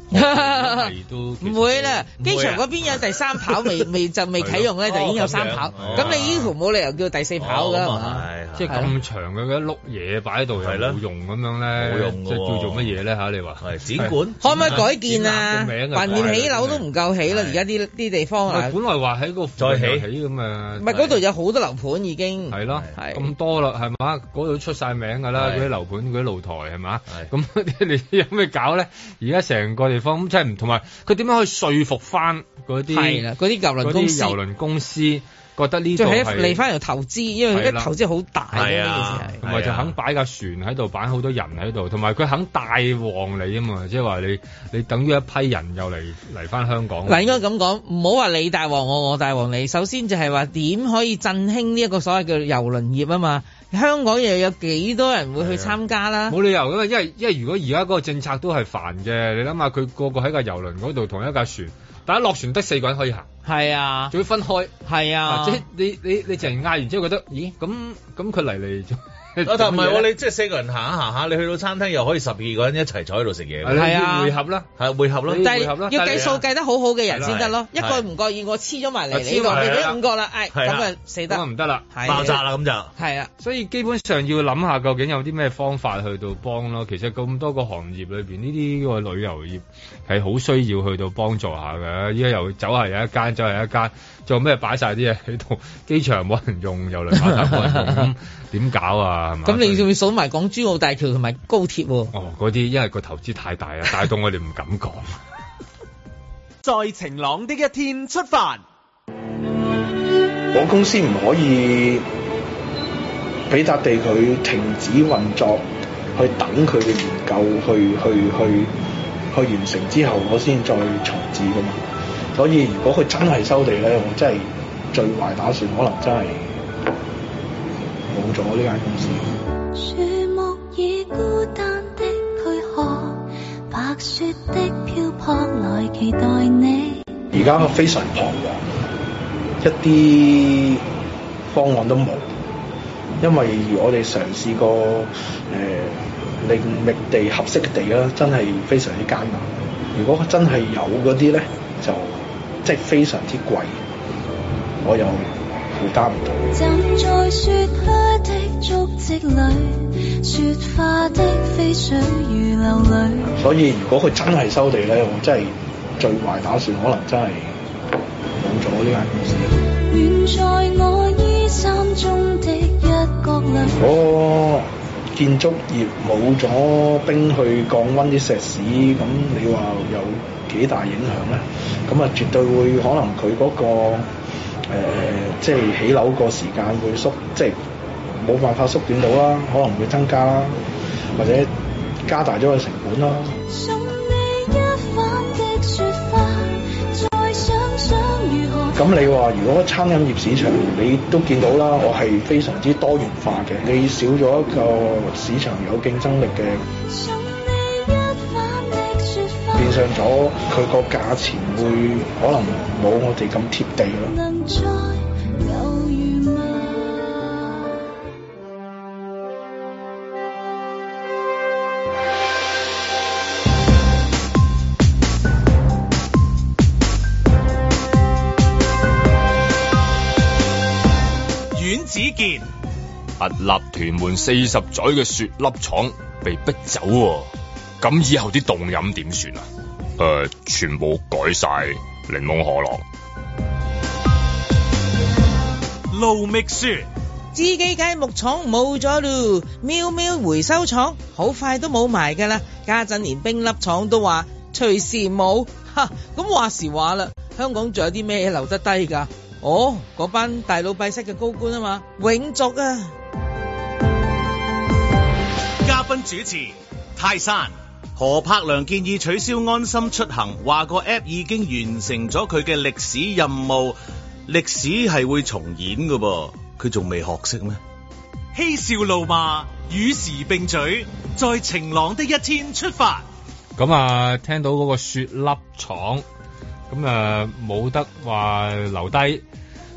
都唔會啦，機場嗰邊有第三跑未未就未啟用咧，就已經有三跑。咁你呢條冇理由叫第四跑㗎係嘛？ 即係咁長嘅一碌嘢擺喺度又冇用咁樣咧，冇用即係叫做乜嘢咧嚇？你話係展館， 可唔可以改建啊？橫掂起樓都唔夠起啦，而家啲啲地方啊， 本來話喺個再起起咁啊， 唔係嗰度有好多樓盤已經係咯，咁多啦係嘛？嗰度出晒名㗎啦，嗰啲樓盤嗰啲露台係嘛？咁你有咩搞咧？而家成個地方咁即係唔同埋，佢點樣可以說服翻嗰啲係啦？嗰啲郵輪公司，郵輪公司覺得呢度係嚟翻嚟投資，因為佢啲投資好大嘅呢件事係， 同埋就肯擺架船喺度，擺好多人喺度，同埋佢肯帶旺你啊嘛，即係話你你等於一批人又嚟嚟翻香港。 嗱，應該咁講，唔好話你帶旺我，我帶旺你。首先就係話點可以振興呢一個所謂嘅郵輪業啊嘛。香港又有幾多人會去參加啦？冇理由噶嘛，因為因為如果而家嗰個政策都係煩嘅，你諗下佢個個喺架郵輪嗰度同一架船，但一落船得四個人可以行，係啊，仲要分開，係啊，即係你你你淨係嗌完之後覺得，咦咁咁佢嚟嚟。 啊，但唔係喎，你即係四個人行下行下，你去到餐廳又可以十二個人一齊坐喺度食嘢，係啊，會合啦，係會合咯，但係要計數計得好好嘅人先得咯，一個唔覺意我黐咗埋嚟呢度，變咗五個啦，誒咁啊死得，咁啊唔得啦，爆炸啦咁就係啊，所以基本上要諗下究竟有啲咩方法去到幫咯。其實咁多個行業裏邊，呢啲個旅遊業係好需要去到幫助下嘅。依家又走係有一間，走係一間，做咩擺晒啲嘢喺度？機場冇人用，郵輪碼頭冇人用，咁點搞啊？咁你仲要數埋港珠澳大橋同埋高鐵喎？哦，嗰啲因為個投資太大啊，大到我哋唔敢講。在晴朗的一天出發， 我公司唔可以俾笪地佢停止運作，去等佢嘅研究去去去去完成之後，我先再重置噶嘛。所以如果佢真係收地咧，我真係最壞打算，可能真係冇咗呢間公司。樹木已孤單的軀殼，白雪的漂泊來期待你。而家非常彷徨，一啲方案都冇，因為我哋嘗試過誒另覓地合適嘅地啦，真係非常之艱難。如果真係有嗰啲咧，就即係非常之貴，我又負擔唔到。站在雪靴的足跡裏，雪花的飛水如流淚。所以如果佢真係收地咧，我真係最壞打算，可能真係冇咗呢間公司。遠在我衣衫中的一角落。我建築業冇咗冰去降溫啲石屎，咁你話有幾大影響咧？咁啊，絕對會可能佢嗰個誒，即係起樓個時間會縮，即係冇辦法縮短到啦，可能會增加啦，或者加大咗個成本啦。咁你話如果餐飲業市場你都見到啦，我係非常之多元化嘅，你少咗一個市場有競爭力嘅，變相咗佢個價錢會可能冇我哋咁貼地咯。 子健，屹立屯門四十載嘅雪粒廠被逼走，咁以後啲凍飲點算啊？誒、呃，全部改晒檸檬可樂。盧覓雪， 志記街木廠冇咗咯，喵喵回收廠好快都冇埋噶啦，家陣連冰粒廠都話隨時冇，哈，咁話時話啦，香港仲有啲咩留得低噶？哦，嗰班大老闆式嘅高官啊嘛，永續啊！ 嘉賓主持泰山，何柏良建議取消安心出行，話個 app 已經完成咗佢嘅歷史任務，歷史係會重演噶噃，佢仲未學識咩？嬉笑怒罵，與時並舉，在晴朗的一天出發。 咁啊，聽到嗰個雪粒廠。咁啊冇得話留低，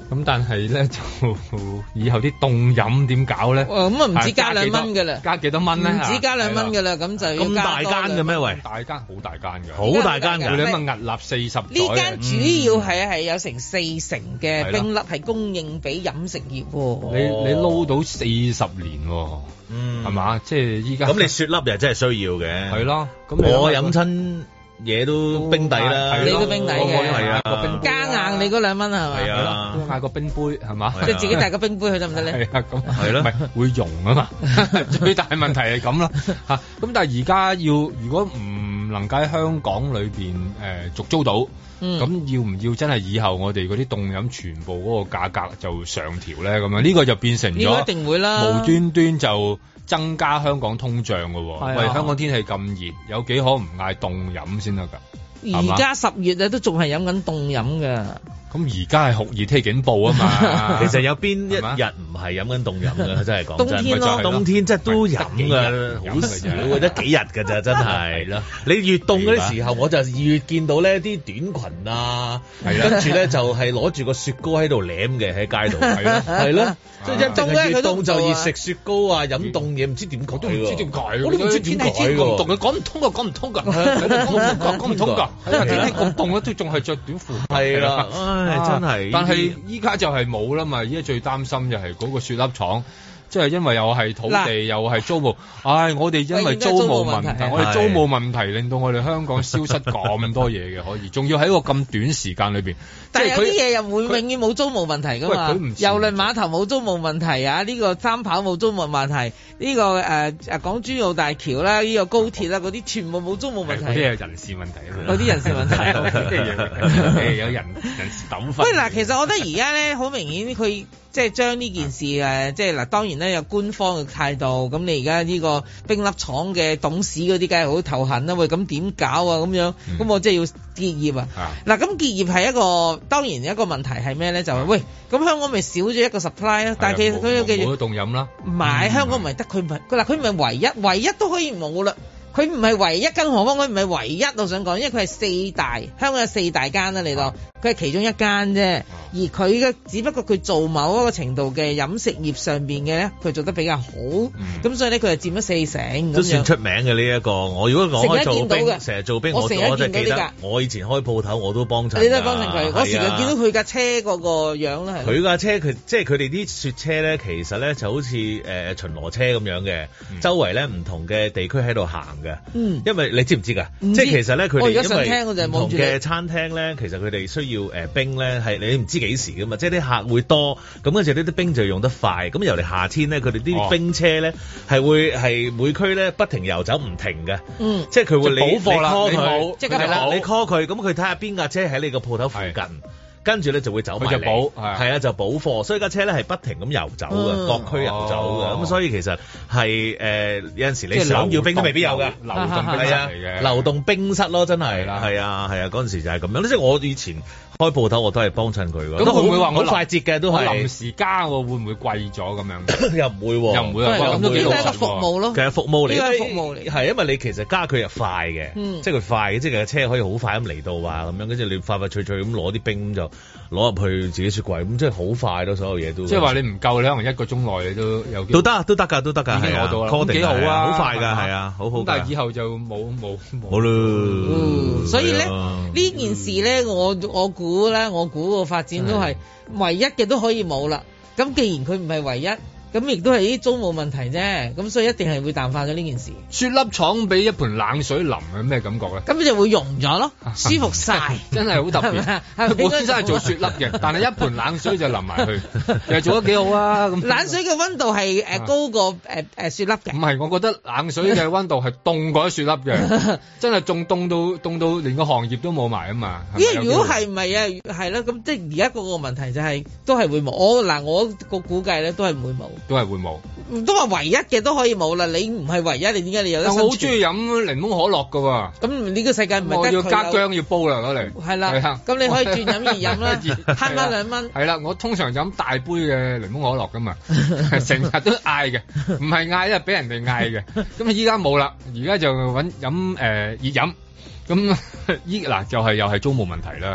咁但係咧就以後啲凍飲點搞咧？ 咁啊唔止加兩蚊㗎啦， 加幾多蚊咧？ 唔止加兩蚊㗎啦，咁就咁大間嘅咩？喂， 大間好大間㗎， 好大間㗎， 你諗下屹立四十。 呢間主要係係有成四成嘅冰粒係供應俾飲食業。 你你撈到四十年，嗯，係嘛？即係依家咁你雪粒又真係需要嘅， 係咯。咁我飲親嘢都冰底啦， 你都冰底嘅， 係啊， 加硬你嗰兩蚊係咪？ 係啊， 都嗌個冰杯係嘛？ 即係自己帶個冰杯去得唔得咧？ 係啊，咁係咯，咪會溶啊嘛。最大問題係咁啦嚇。咁但係而家要如果唔能夠喺香港裏邊誒續租到，咁、嗯、要唔要真係以後我哋嗰啲凍飲全部嗰個價格就上調咧？咁樣呢個就變成咗， 一定會啦， 無端端就增加香港通脹嘅喎。 啊、 喂，香港天氣咁熱，有幾可唔嗌凍飲先得㗎？ 而家十月啊，都仲係飲緊凍飲㗎。 咁而家係酷熱天氣警報啊嘛， 其實有邊一日唔係飲緊凍飲嘅？真係講真， 冬天咯， 冬天真係都飲㗎，好少，得幾日㗎咋，真係。係啦，你越凍嗰啲時候，我就越見到呢啲短裙啊，跟住咧就係攞住個雪糕喺度舐嘅喺街度，係咯，係咯，即係一凍咧，越凍就越食雪糕啊，飲凍嘢，唔知點講， 都唔知點解， 我都唔知點解喎。 凍嘅講唔通㗎，講唔通㗎，講唔通㗎，天氣咁凍咧，都仲係着短褲。係啦。 唉，真係， 但係依家就係冇啦嘛，依家最擔心就係嗰個雪粒廠。即係因為又係土地又係租務，唉！我哋因為租務問題，我哋租務問題令到我哋香港消失咁多嘢嘅，可以，仲要喺一個咁短時間裏邊。 但係有啲嘢又會永遠冇租務問題㗎嘛？郵輪碼頭冇租務問題啊！呢個三跑冇租務問題，呢個誒誒港珠澳大橋啦，呢個高鐵啦，嗰啲全部冇租務問題。 嗰啲係人事問題啊嘛。 嗰啲人事問題。 有人人事糾紛。 喂嗱，其實我覺得而家咧好明顯佢。即係將呢件事誒，即係嗱，當然咧有官方嘅態度。咁你而家呢個冰粒廠嘅董事嗰啲，梗係好頭痕啦。喂，咁點搞啊？咁樣，咁、嗯、我即係要結業啊！嗱、啊，咁結業係一個當然一個問題係咩咧？就係、是、喂，咁香港咪少咗一個 supply 咯。但係其實佢嘅冇得凍飲啦。 唔係、嗯、香港唔係得佢唔係嗱，佢唔係唯一，唯一都可以冇啦。佢唔係唯一，更何況佢唔係唯一。我想講，因為佢係四大，香港有四大間啦，你當佢係其中一間啫。而佢嘅只不過佢做某一個程度嘅飲食業上邊嘅咧，佢做得比較好。咁、嗯、所以咧，佢就佔咗四成。 都算出名嘅呢一個。我如果講開做冰，成日做冰，我成日見到呢架。我以前開鋪頭我都幫襯。 你都幫襯佢，我成日見到佢架車嗰個樣啦。 佢架車佢即係佢哋啲雪車咧，其實咧就好似誒、呃、巡邏車咁樣嘅，嗯、周圍咧唔同嘅地區喺度行嘅。嗯，因為你知唔知㗎？即係其實咧，佢哋因為唔同嘅餐廳咧，其實佢哋需要誒冰咧，係你唔知幾時㗎嘛。即係啲客會多，咁跟住呢啲冰就用得快。咁尤其夏天咧，佢哋啲冰車咧係會係每區咧不停遊走唔停嘅。嗯，即係佢會你補貨啦， 你 call 佢， 即係啦，你 call 佢，咁佢睇下邊架車喺你個鋪頭附近。跟住咧就會走埋嚟，係啊，就補貨，所以架車咧係不停咁遊走嘅，嗯、各區遊走嘅，咁、哦、所以其實係誒、呃、有陣時你想要冰都未必有嘅，流動冰室嚟嘅，流動冰室咯，真係，係啊係啊，嗰陣、啊、時就係咁樣，即係我以前開鋪頭我都係幫襯佢嘅， 咁會唔會話好快捷嘅都係臨時加喎，會唔會貴咗咁樣？ 又唔會喎， 又唔會啊， 咁都幾係一個服務咯， 其實服務嚟， 呢個係服務嚟， 係因為你其實加佢又快嘅，嗯、即係佢快嘅，即係架車可以好快咁嚟到啊咁樣，跟住你快快脆脆咁攞啲冰咁就攞入去。自己雪櫃咁即係好快咯，所有嘢都即係話你唔夠，你可能一個鐘內你都有都得都得㗎，都得㗎，已經攞到啦， 幾好啊， 好快㗎，係啊，好好。 但係以後就冇冇冇咯。 所以咧呢件事咧，我我估咧，我估個發展都係唯一嘅都可以冇啦。咁既然佢唔係唯一。咁亦都係啲租務問題啫，咁所以一定係會淡化咗呢件事。 雪粒廠俾一盆冷水淋係咩感覺咧？ 咁就會溶咗咯，舒服晒， 真係好特別。佢本身係做雪粒嘅，但係一盆冷水就淋埋去，又做得幾好啊！咁冷水嘅溫度係誒高過誒誒雪粒嘅。唔係，我覺得冷水嘅溫度係凍過雪粒嘅，真係仲凍到凍到連個行業都冇埋啊嘛！ 因為如果係唔係啊，係啦，咁即係而家個個問題就係都係會冇。我嗱我個估計咧都係唔會冇。 都係會冇， 都話唯一嘅都可以冇啦。你唔係唯一，你點解你有得？ 我好中意飲檸檬可樂噶喎。 咁呢個世界唔係得佢。 我要加薑要煲啦，攞嚟。係啦，咁你可以轉飲而飲啦，慳翻兩蚊。 係啦，我通常飲大杯嘅檸檬可樂噶嘛，成日都嗌嘅，唔係嗌，因為俾人哋嗌嘅。咁啊，依家冇啦，而家就揾飲誒熱飲。咁依嗱就係又係租務問題啦。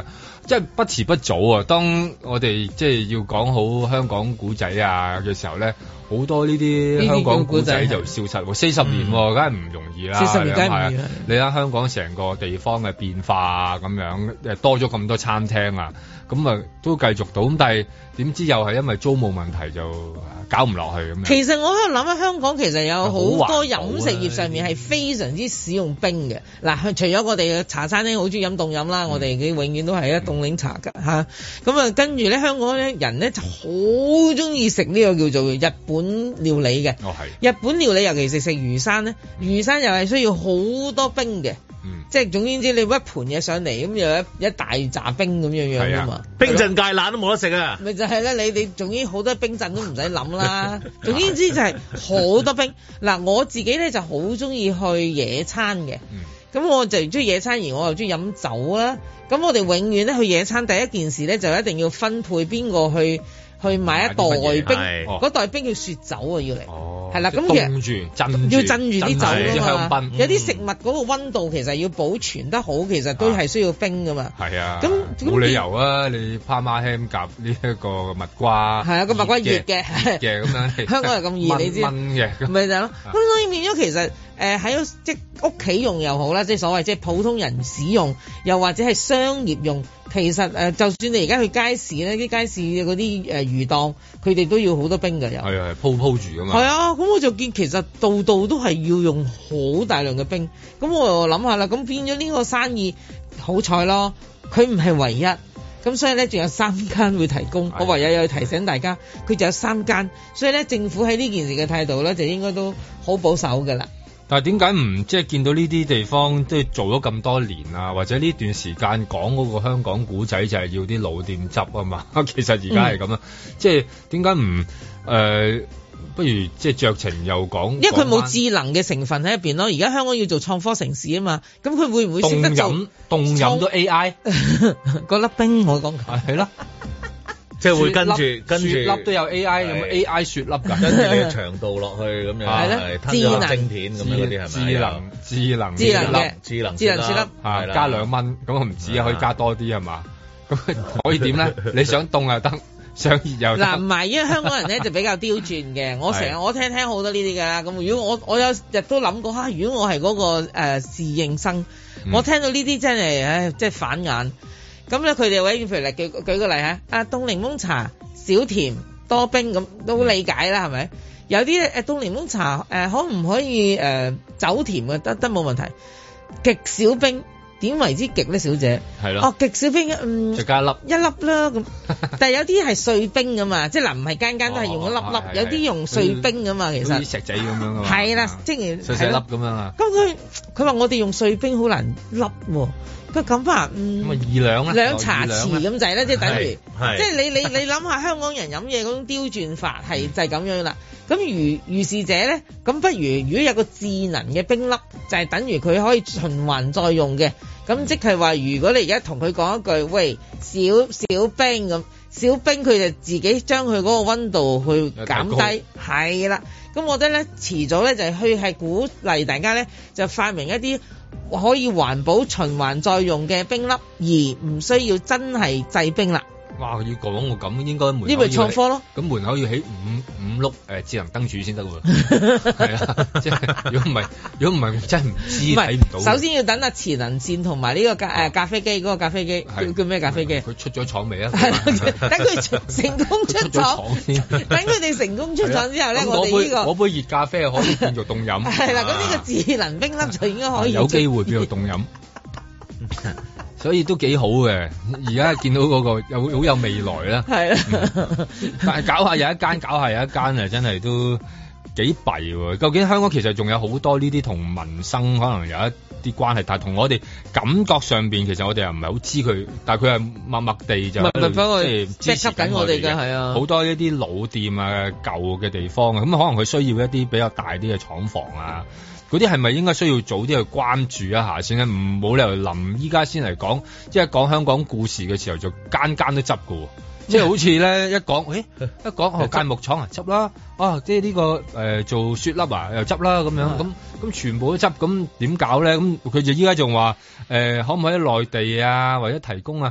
即係不遲不早啊！當我哋即係要講好香港古仔啊嘅時候咧，好多呢啲香港古仔就消失喎。四十年梗係唔容易啦。四十年梗係唔容易。你睇香港成個地方嘅變化啊，咁樣誒多咗咁多餐廳啊，咁啊都繼續到。咁但係點知又係因為租務問題就搞唔落去咁樣。 其實我喺度諗啊，香港其實有好多飲食業上面係非常之使用冰嘅。嗱，除咗我哋嘅茶餐廳好中意飲凍飲啦，嗯、我哋嘅永遠都係一凍檸茶㗎嚇。咁啊，跟住咧香港咧人咧就好中意食呢個叫做日本料理嘅。 哦，係。 日本料理尤其是食魚生咧，魚生又係需要好多冰嘅。嗯，即係總言之，你一盤嘢上嚟咁，又一一大紮冰咁樣樣㗎嘛， 冰鎮芥蘭都冇得食啊！ 咪就係咧，你你總之好多冰鎮都唔使諗啦。總言之就係好多冰。嗱，我自己咧就好中意去野餐嘅，咁、嗯、我就中意野餐，而我又中意飲酒啦。咁我哋永遠咧去野餐，第一件事咧就一定要分配邊個去去買一袋冰，嗰袋冰叫雪酒啊，要嚟。哦，係啦，咁其實要鎮住啲酒㗎嘛。有啲食物嗰個溫度其實要保存得好，其實都係需要冰㗎嘛。係啊，咁冇理由啊！你帕瑪輕夾呢一個蜜瓜， 係啊，個蜜瓜熱嘅， 熱嘅咁樣。 香港係咁熱，你知？燜嘅，咪就係咯。咁所以變咗其實誒喺即屋企用又好啦，即係所謂即係普通人使用，又或者係商業用。其實誒，就算你而家去街市咧，啲街市嗰啲誒魚檔，佢哋都要好多冰㗎，又係啊，鋪鋪住㗎嘛。 係啊，咁我就見其實度度都係要用好大量嘅冰。咁我又諗下啦，咁變咗呢個生意好彩咯，佢唔係唯一。咁所以咧，仲有三間會提供。我唯有要提醒大家，佢就有三間。所以咧，政府喺呢件事嘅態度咧，就應該都好保守㗎啦。 但係點解唔即係見到呢啲地方即係做咗咁多年啊？或者呢段時間講嗰個香港古仔就係要啲老店執啊嘛？其實而家係咁啊，即係點解唔誒？不如即係酌情又講，因為佢冇智能嘅成分喺入邊咯。而家香港要做創科城市啊嘛，咁佢會唔會識得做凍飲？凍飲都 A I 嗰粒冰我講係咯。 即係會跟住跟住雪粒都有 A I， 有冇 A I 雪粒㗎？ 跟住你嘅長度落去咁樣，係咧， 智能晶片咁樣嗰啲係咪？ 智能智能智能嘅智能智能雪粒係加兩蚊，咁我唔止啊，可以加多啲係嘛？咁可以點咧？你想凍又得，想熱又得。 嗱唔係，因為香港人咧就比較刁鑽嘅。我成日我聽聽好多呢啲㗎啦。咁如果我我有日都諗過嚇，如果我係嗰個誒侍應生，我聽到呢啲真係唉，即係反眼。咁咧，佢哋位譬如嚟舉舉個例嚇，啊凍檸檬茶少甜多冰咁都理解啦，係咪？有啲誒凍檸檬茶誒、呃、可唔可以誒走、呃、甜嘅得得冇問題，極少冰點為之極咧，小姐？係咯。哦，極少冰嗯， 就加一粒一粒啦咁。但係有啲係碎冰㗎嘛，即係嗱唔係間間都係用一粒粒，哦、有啲用碎冰㗎嘛，其實。啲石仔咁樣㗎嘛。 係啦，即係細細粒咁樣啊。 咁佢佢話我哋用碎冰好難粒喎。佢咁啊，嗯，咁啊二兩啦， 兩茶匙咁滯啦，即係等於，即係你你你諗下香港人飲嘢嗰種刁鑽法係就係咁樣啦。咁如如是者咧，咁不如如果有個智能嘅冰粒，就係、是、等於佢可以循環再用嘅。咁即係話，如果你而家同佢講一句，喂，小小冰咁，小冰佢就自己將佢嗰個溫度去減低，係啦。咁我覺得咧，遲早咧就係去係鼓勵大家咧，就發明一啲可以環保循環再用嘅冰粒，而唔需要真係製冰啦。 哇！要講我咁應該門口呢咪創科咯。 咁門口要起五五碌誒智能燈柱先得喎。係啊，即係如果唔係，如果唔係真係唔知睇唔到。 首先要等阿磁能線同埋呢個咖誒咖啡機嗰個咖啡機叫叫咩咖啡機？ 佢出咗廠未啊？ 係等佢成功出廠先。等佢哋成功出廠之後咧，我哋呢個嗰杯熱咖啡可以變做凍飲。 係啦，咁呢個智能冰粒就應該可以有機會變做凍飲。所以都幾好嘅，而家見到嗰個有好有未來啦。係啊，但係搞下有一間，搞下有一間啊，真係都幾弊喎。究竟香港其實仲有好多呢啲同民生可能有一啲關係，但係同我哋感覺上邊其實我哋又唔係好知佢，但係佢係默默地就即係支持緊我哋嘅。係啊，好多一啲老店啊、舊嘅地方啊，咁可能佢需要一啲比較大啲嘅廠房啊。嗰啲係咪應該需要早啲去關注一下先咧？唔冇理由臨依家先嚟講，即係講香港故事嘅時候就間間都執㗎喎。即係好似咧一講，誒一講哦間木廠啊執啦，啊即係呢、呢個誒、呃、做雪粒啊又執啦咁樣，咁咁全部都執，咁點搞咧？咁佢就依家仲話誒可唔可以內地啊或者提供啊？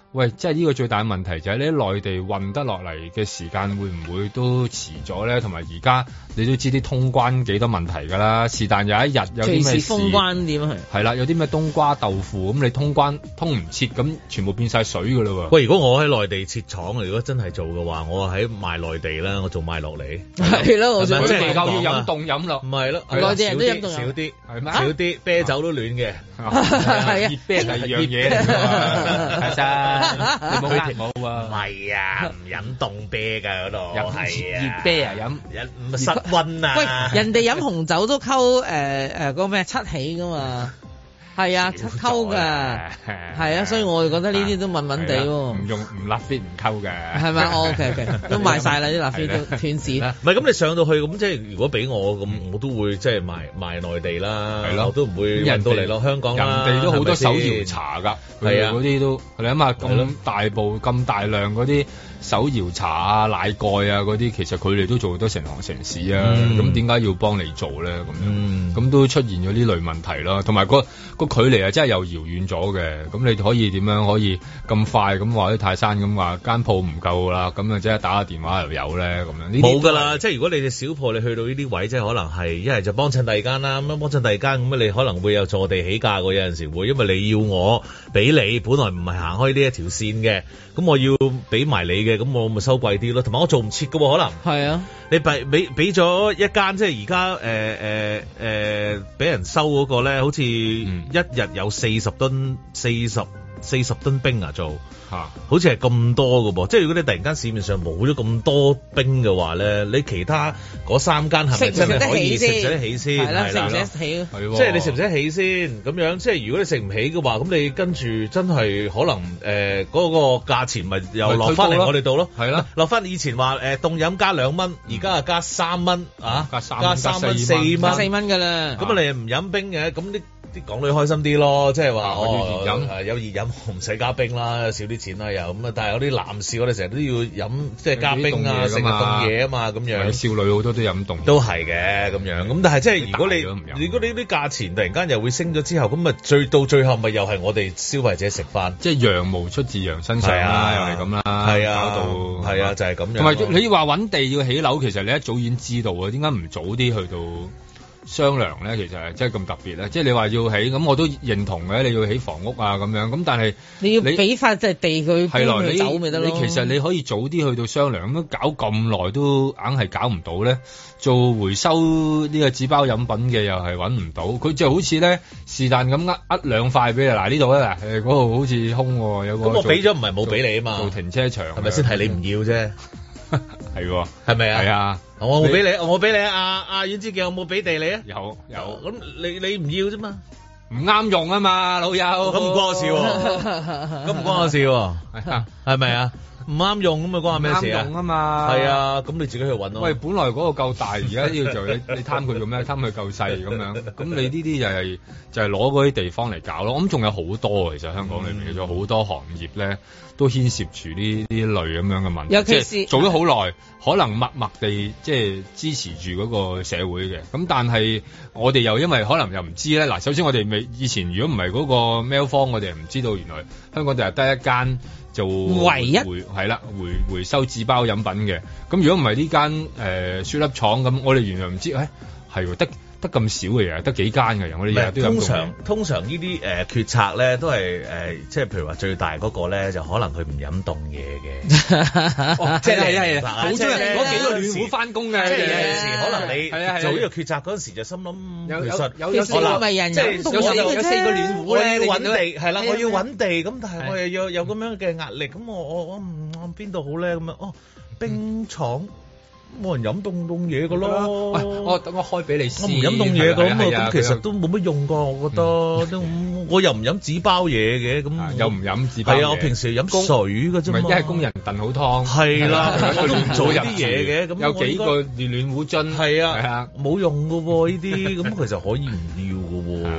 喂，即係呢個最大嘅問題就係你喺內地運得落嚟嘅時間會唔會都遲咗咧？同埋而家你都知啲通關幾多問題㗎啦，是但有一日有啲咩事，隨時封關點係係啦，有啲咩冬瓜豆腐咁，你通關通唔切，咁全部變晒水㗎啦喎！ 喂，如果我喺內地設廠，如果真係做嘅話，我喺賣內地啦，我做賣落嚟係咯，我想即係要飲凍飲咯， 唔係咯， 內地人都飲凍飲少啲，係咩？ 少啲啤酒都暖嘅， 係啊， 熱啤係樣嘢嚟㗎，係真，你冇冇啊？ 唔係啊，唔飲凍啤㗎嗰度，係啊， 熱啤啊飲， 唔室溫啊。 喂，人哋飲紅酒都溝誒誒嗰個咩七喜㗎嘛？係啊，七溝㗎，係啊，所以我就覺得呢啲都悶悶地喎。 唔用唔立 fit 唔溝嘅， 係咪？哦 OK OK，都賣晒啦啲立 fit 都斷市。 唔係咁，你上到去咁即係如果俾我咁，我都會即係賣賣內地啦，係咯，我都唔會運到嚟咯香港啦。 人哋都好多手搖茶㗎，係啊，嗰啲都你諗下咁大部咁大量嗰啲手搖茶啊、奶蓋啊嗰啲，其實佢哋都做得成行成市啊。咁點解要幫你做咧？咁樣咁都出現咗呢類問題啦，同埋個個距離啊，真係又遙遠咗嘅。咁你可以點樣可以咁快咁話啲泰山咁話間鋪唔夠啦，咁啊即係打個電話又有咧咁樣。 冇㗎啦，即係如果你哋小鋪你去到呢啲位，即係可能係一係就幫襯第二間啦，咁樣幫襯第二間咁你可能會有坐地起價喎，有陣時會，因為你要我俾你，本來唔係行開呢一條線嘅，咁我要俾埋你嘅，咁我咪收貴啲咯。同埋我做唔切㗎喎，可能係啊， 你俾俾俾咗一間，即係而家誒誒誒俾人收嗰個咧，好似一日有四十噸四十四十噸冰啊做嚇，啊、好似係咁多㗎噃。即係如果你突然間市面上冇咗咁多冰嘅話咧，你其他嗰三間係咪真係可以食得起先？係啦，食唔食得起？係即係你食唔食得起先？咁樣即係如果你食唔起嘅話，咁你跟住真係可能誒嗰、呃嗰個價錢咪又落翻嚟我哋度咯？係啦，落翻以前話誒凍飲加兩蚊，而家啊加三蚊啊，加三加三蚊四蚊四蚊㗎啦。 咁啊你唔飲冰嘅，咁啲啲港女開心啲咯，即係話哦熱飲有熱飲唔使加冰啦，少啲錢啦又咁啊！但係有啲男士我哋成日都要飲即係加冰啊，成日凍嘢啊嘛咁樣。 少女好多都飲凍， 都係嘅咁樣。咁但係即係如果你如果你啲價錢突然間又會升咗之後，咁咪最到最後咪又係我哋消費者食飯， 即係羊毛出自羊身上啦，又係咁啦， 係啊， 搞到係啊，就係咁樣。 同埋你話揾地要起樓，其實你一早已經知道啊，點解唔早啲去到商量咧？其實係真係咁特別咧，即係你話要起咁，我都認同嘅。你要起房屋啊咁樣，咁但係你要俾翻即係地佢係咯， 你走咪得咯。 你其實你可以早啲去到商量，咁搞咁耐都硬係搞唔到咧。做回收呢個紙包飲品嘅又係揾唔到，佢就好似咧是但咁呃呃兩塊俾你。嗱呢度咧，誒嗰度好似空喎，有個咁我俾咗唔係冇俾你啊嘛， 做停車場係咪先？係你唔要啫， 係喎， 係咪啊？ 係啊。 我冇俾你，我冇俾你啊！阿阿阮之健有冇俾地你啊？ 有有， 咁你你唔要啫嘛？ 唔啱用啊嘛，老友。 咁唔關我事喎，咁唔關我事喎，係咪啊？唔啱用咁啊，關我咩事啊？ 啱用啊嘛， 係啊，咁你自己去揾咯。 喂，本來嗰個夠大，而家要做你你貪佢做咩？貪佢夠細咁樣，咁你呢啲就係就係攞嗰啲地方嚟搞咯。咁仲有好多其實香港裏面有好多行業咧，都牽涉住呢呢類咁樣嘅問題。 尤其是做咗好耐，可能默默地即係支持住嗰個社會嘅。咁但係我哋又因為可能又唔知咧。嗱，首先我哋未以前如果唔係嗰個 mail 方，我哋唔知道原來香港就係得一間。就唯一回係啦，回回收紙包飲品嘅。咁如果唔係呢間誒雪粒廠咁，我哋原來唔知，誒係喎，得得咁少嘅嘢，得幾間嘅人，我哋日日都飲。通常通常呢啲誒決策咧，都係誒、呃，即係譬如話最大嗰個咧，就可能佢唔飲凍嘢嘅。 哦，即係係係，好多人攞幾個暖壺翻工嘅。 即係有陣時可能你做呢個決策嗰陣時，就心諗其實有有四個咪人即係有有四個暖壺咧， 我要揾地係啦，我要揾地，咁但係我又要有咁樣嘅壓力，咁我我我唔我邊度好咧？咁樣哦，冰廠。冇人飲凍凍嘢㗎咯， 我等我開俾你試。我唔飲凍嘢㗎咁啊，咁其實都冇乜用㗎，我覺得。都我又唔飲紙包嘢嘅，咁又唔飲紙包嘢。係啊， 我平時飲水㗎啫嘛。 唔係，一係工人燉好湯。係啦，我都唔做啲嘢嘅。咁有幾個暖暖壺樽。 係啊，係啊，冇用㗎喎呢啲，咁其實可以唔要㗎喎。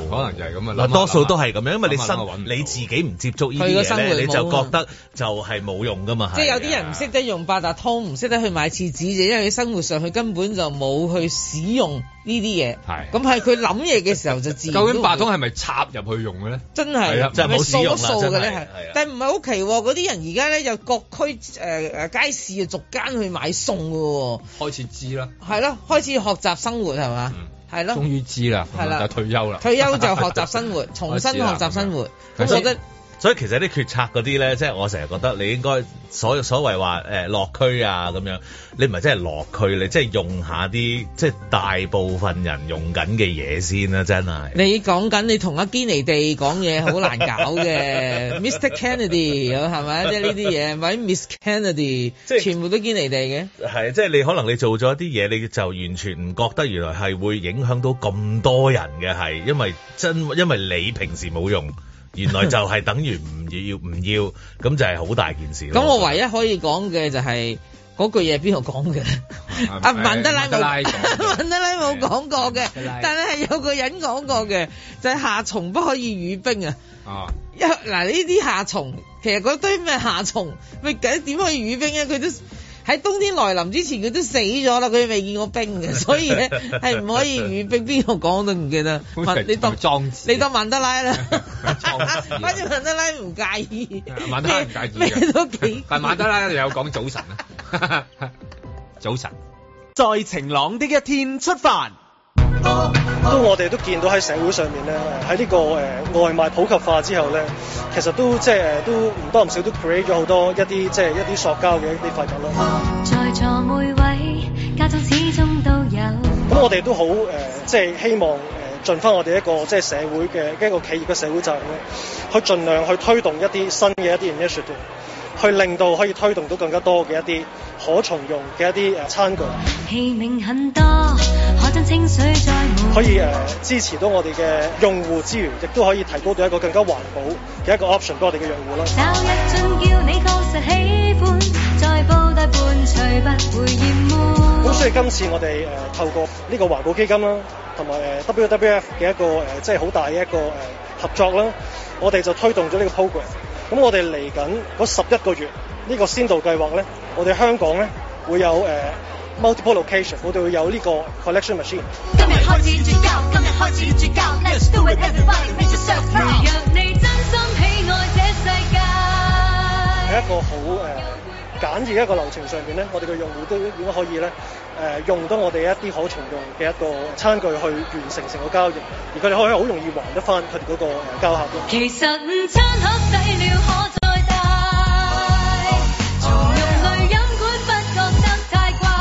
可能就係咁啊。 多數都係咁樣，因為你生你自己唔接觸呢啲嘢咧，你就覺得就係冇用噶嘛。 即係有啲人唔識得用八達通，唔識得去買廁紙，就因為佢生活上佢根本就冇去使用呢啲嘢。係咁係佢諗嘢嘅時候就自然。究竟八達通係咪插入去用嘅咧？ 真係就冇使用數嘅咧，係。但係唔係好奇喎？嗰啲人而家咧又各區誒誒街市啊，逐間去買餸嘅喎。開始知啦。 係咯，開始學習生活係嘛？係咯。 終於知啦，係啦，就退休啦。 退休就學習生活，重新學習生活。我覺得。 所以其實啲決策嗰啲咧，即係我成日覺得你應該所所謂話誒落區啊咁樣，你唔係真係落區，你即係用下啲即係大部分人用緊嘅嘢先啦，真係。你講緊你同阿堅尼地講嘢好難搞嘅，Mister Kennedy 係咪？即係呢啲嘢，咪 Miss Kennedy，即係全部都堅尼地嘅。係，即係你可能你做咗啲嘢，你就完全唔覺得原來係會影響到咁多人嘅，係因為真因為你平時冇用。原來就係等於唔要唔要，咁就係好大件事。 咁我唯一可以講嘅就係、是、嗰句嘢邊度講嘅？阿曼德拉冇，曼德拉冇講過嘅，但係係有個人講過嘅，就係、是、夏蟲不可以語冰啊！啊，一嗱呢啲夏蟲，其實嗰堆咩夏蟲，咪點可以語冰啊？佢都。喺冬天來臨之前佢都死咗啦，佢未見過冰嘅，所以咧係唔可以語冰。邊個講都唔記得。你當莊子，你當曼德拉啦。反正曼德拉唔介意。 曼德拉唔介意。 咩都幾。 但曼德拉有講早晨啊。早晨。 在晴朗的一天出發。 都我哋都見到喺社會上面咧，喺呢個誒、呃、外賣普及化之後咧，其實都即係誒都唔多唔少都 create 咗好多一啲即係一啲塑膠嘅一啲廢物啦。在座每位家中始終都有。咁我哋都好誒，即係希望誒盡翻我哋一個即係社會嘅一個企業嘅社會責任咧，去盡量去推動一啲新嘅一啲 initiative， 去令到可以推動到更加多嘅一啲可重用嘅一啲誒餐具。器皿很多，可將清水再滿。可以誒、呃、支持到我哋嘅用戶之餘，亦都可以提高到一個更加環保嘅一個 option 俾我哋嘅用戶啦。找一樽叫你確實喜歡，再煲大半隨不會厭悶。咁所以今次我哋誒、呃、透過呢個環保基金啦，同埋誒 W W F 嘅一個誒即係好大嘅一個誒、呃、合作啦，我哋就推動咗呢個 program。咁我哋嚟緊嗰十一個月呢、呢個先導計劃咧，我哋香港咧會有誒。呃multiple location， 我哋會有呢個 collection machine。今日開始絕交，今日開始絕交 ，Let's do it everybody make yourself proud。若你真心喜愛這世界，喺一個好誒、呃、簡易嘅一個流程上邊咧，我哋嘅用戶都應該可以咧誒、呃、用到我哋一啲可重用嘅一個餐具去完成成個交易，而佢哋可以好容易還得翻佢哋嗰個交客咯。其實午餐盒洗了可再帶，重用濾飲管不覺得太怪。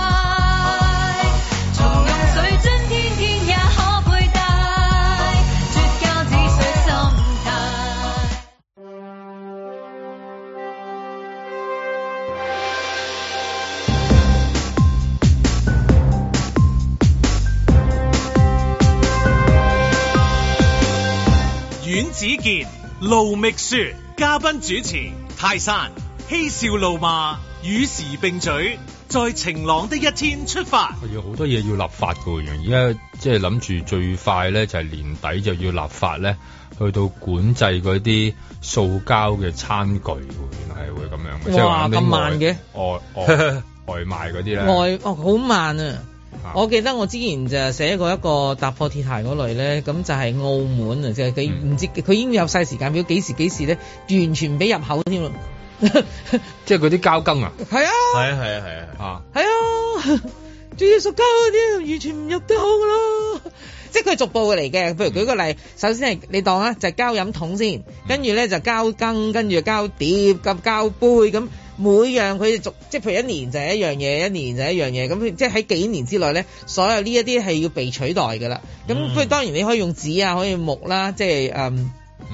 阮子健、盧覓雪，嘉賓主持泰山，嬉笑怒罵，與時並舉，在晴朗的一天出發。 有好多嘢要立法㗎，而家即係諗住最快咧就係年底就要立法咧，去到管制嗰啲塑膠嘅餐具，原來係會咁樣嘅。 哇，咁慢嘅外外外賣嗰啲咧， 外哦好慢啊！我記得我之前就寫過一個踏破鐵鞋嗰類咧，咁就係澳門啊，即係佢唔知佢已經有晒時間表，幾時幾時咧，完全唔俾入口添咯。 即係嗰啲膠羹啊？ 係啊， 係啊，係啊，係啊， 係啊，仲要塑膠嗰啲完全唔入得口噶咯。即係佢逐步嚟嘅，譬如舉個例，首先係你當啊，就係膠飲筒先，跟住咧就膠羹，跟住膠碟咁膠杯咁。每樣佢哋逐即係譬如一年就係一樣嘢，一年就係一樣嘢，咁即係喺幾年之內咧，所有呢一啲係要被取代㗎啦。咁不過當然你可以用紙啊，可以木啦，即係誒，嗯，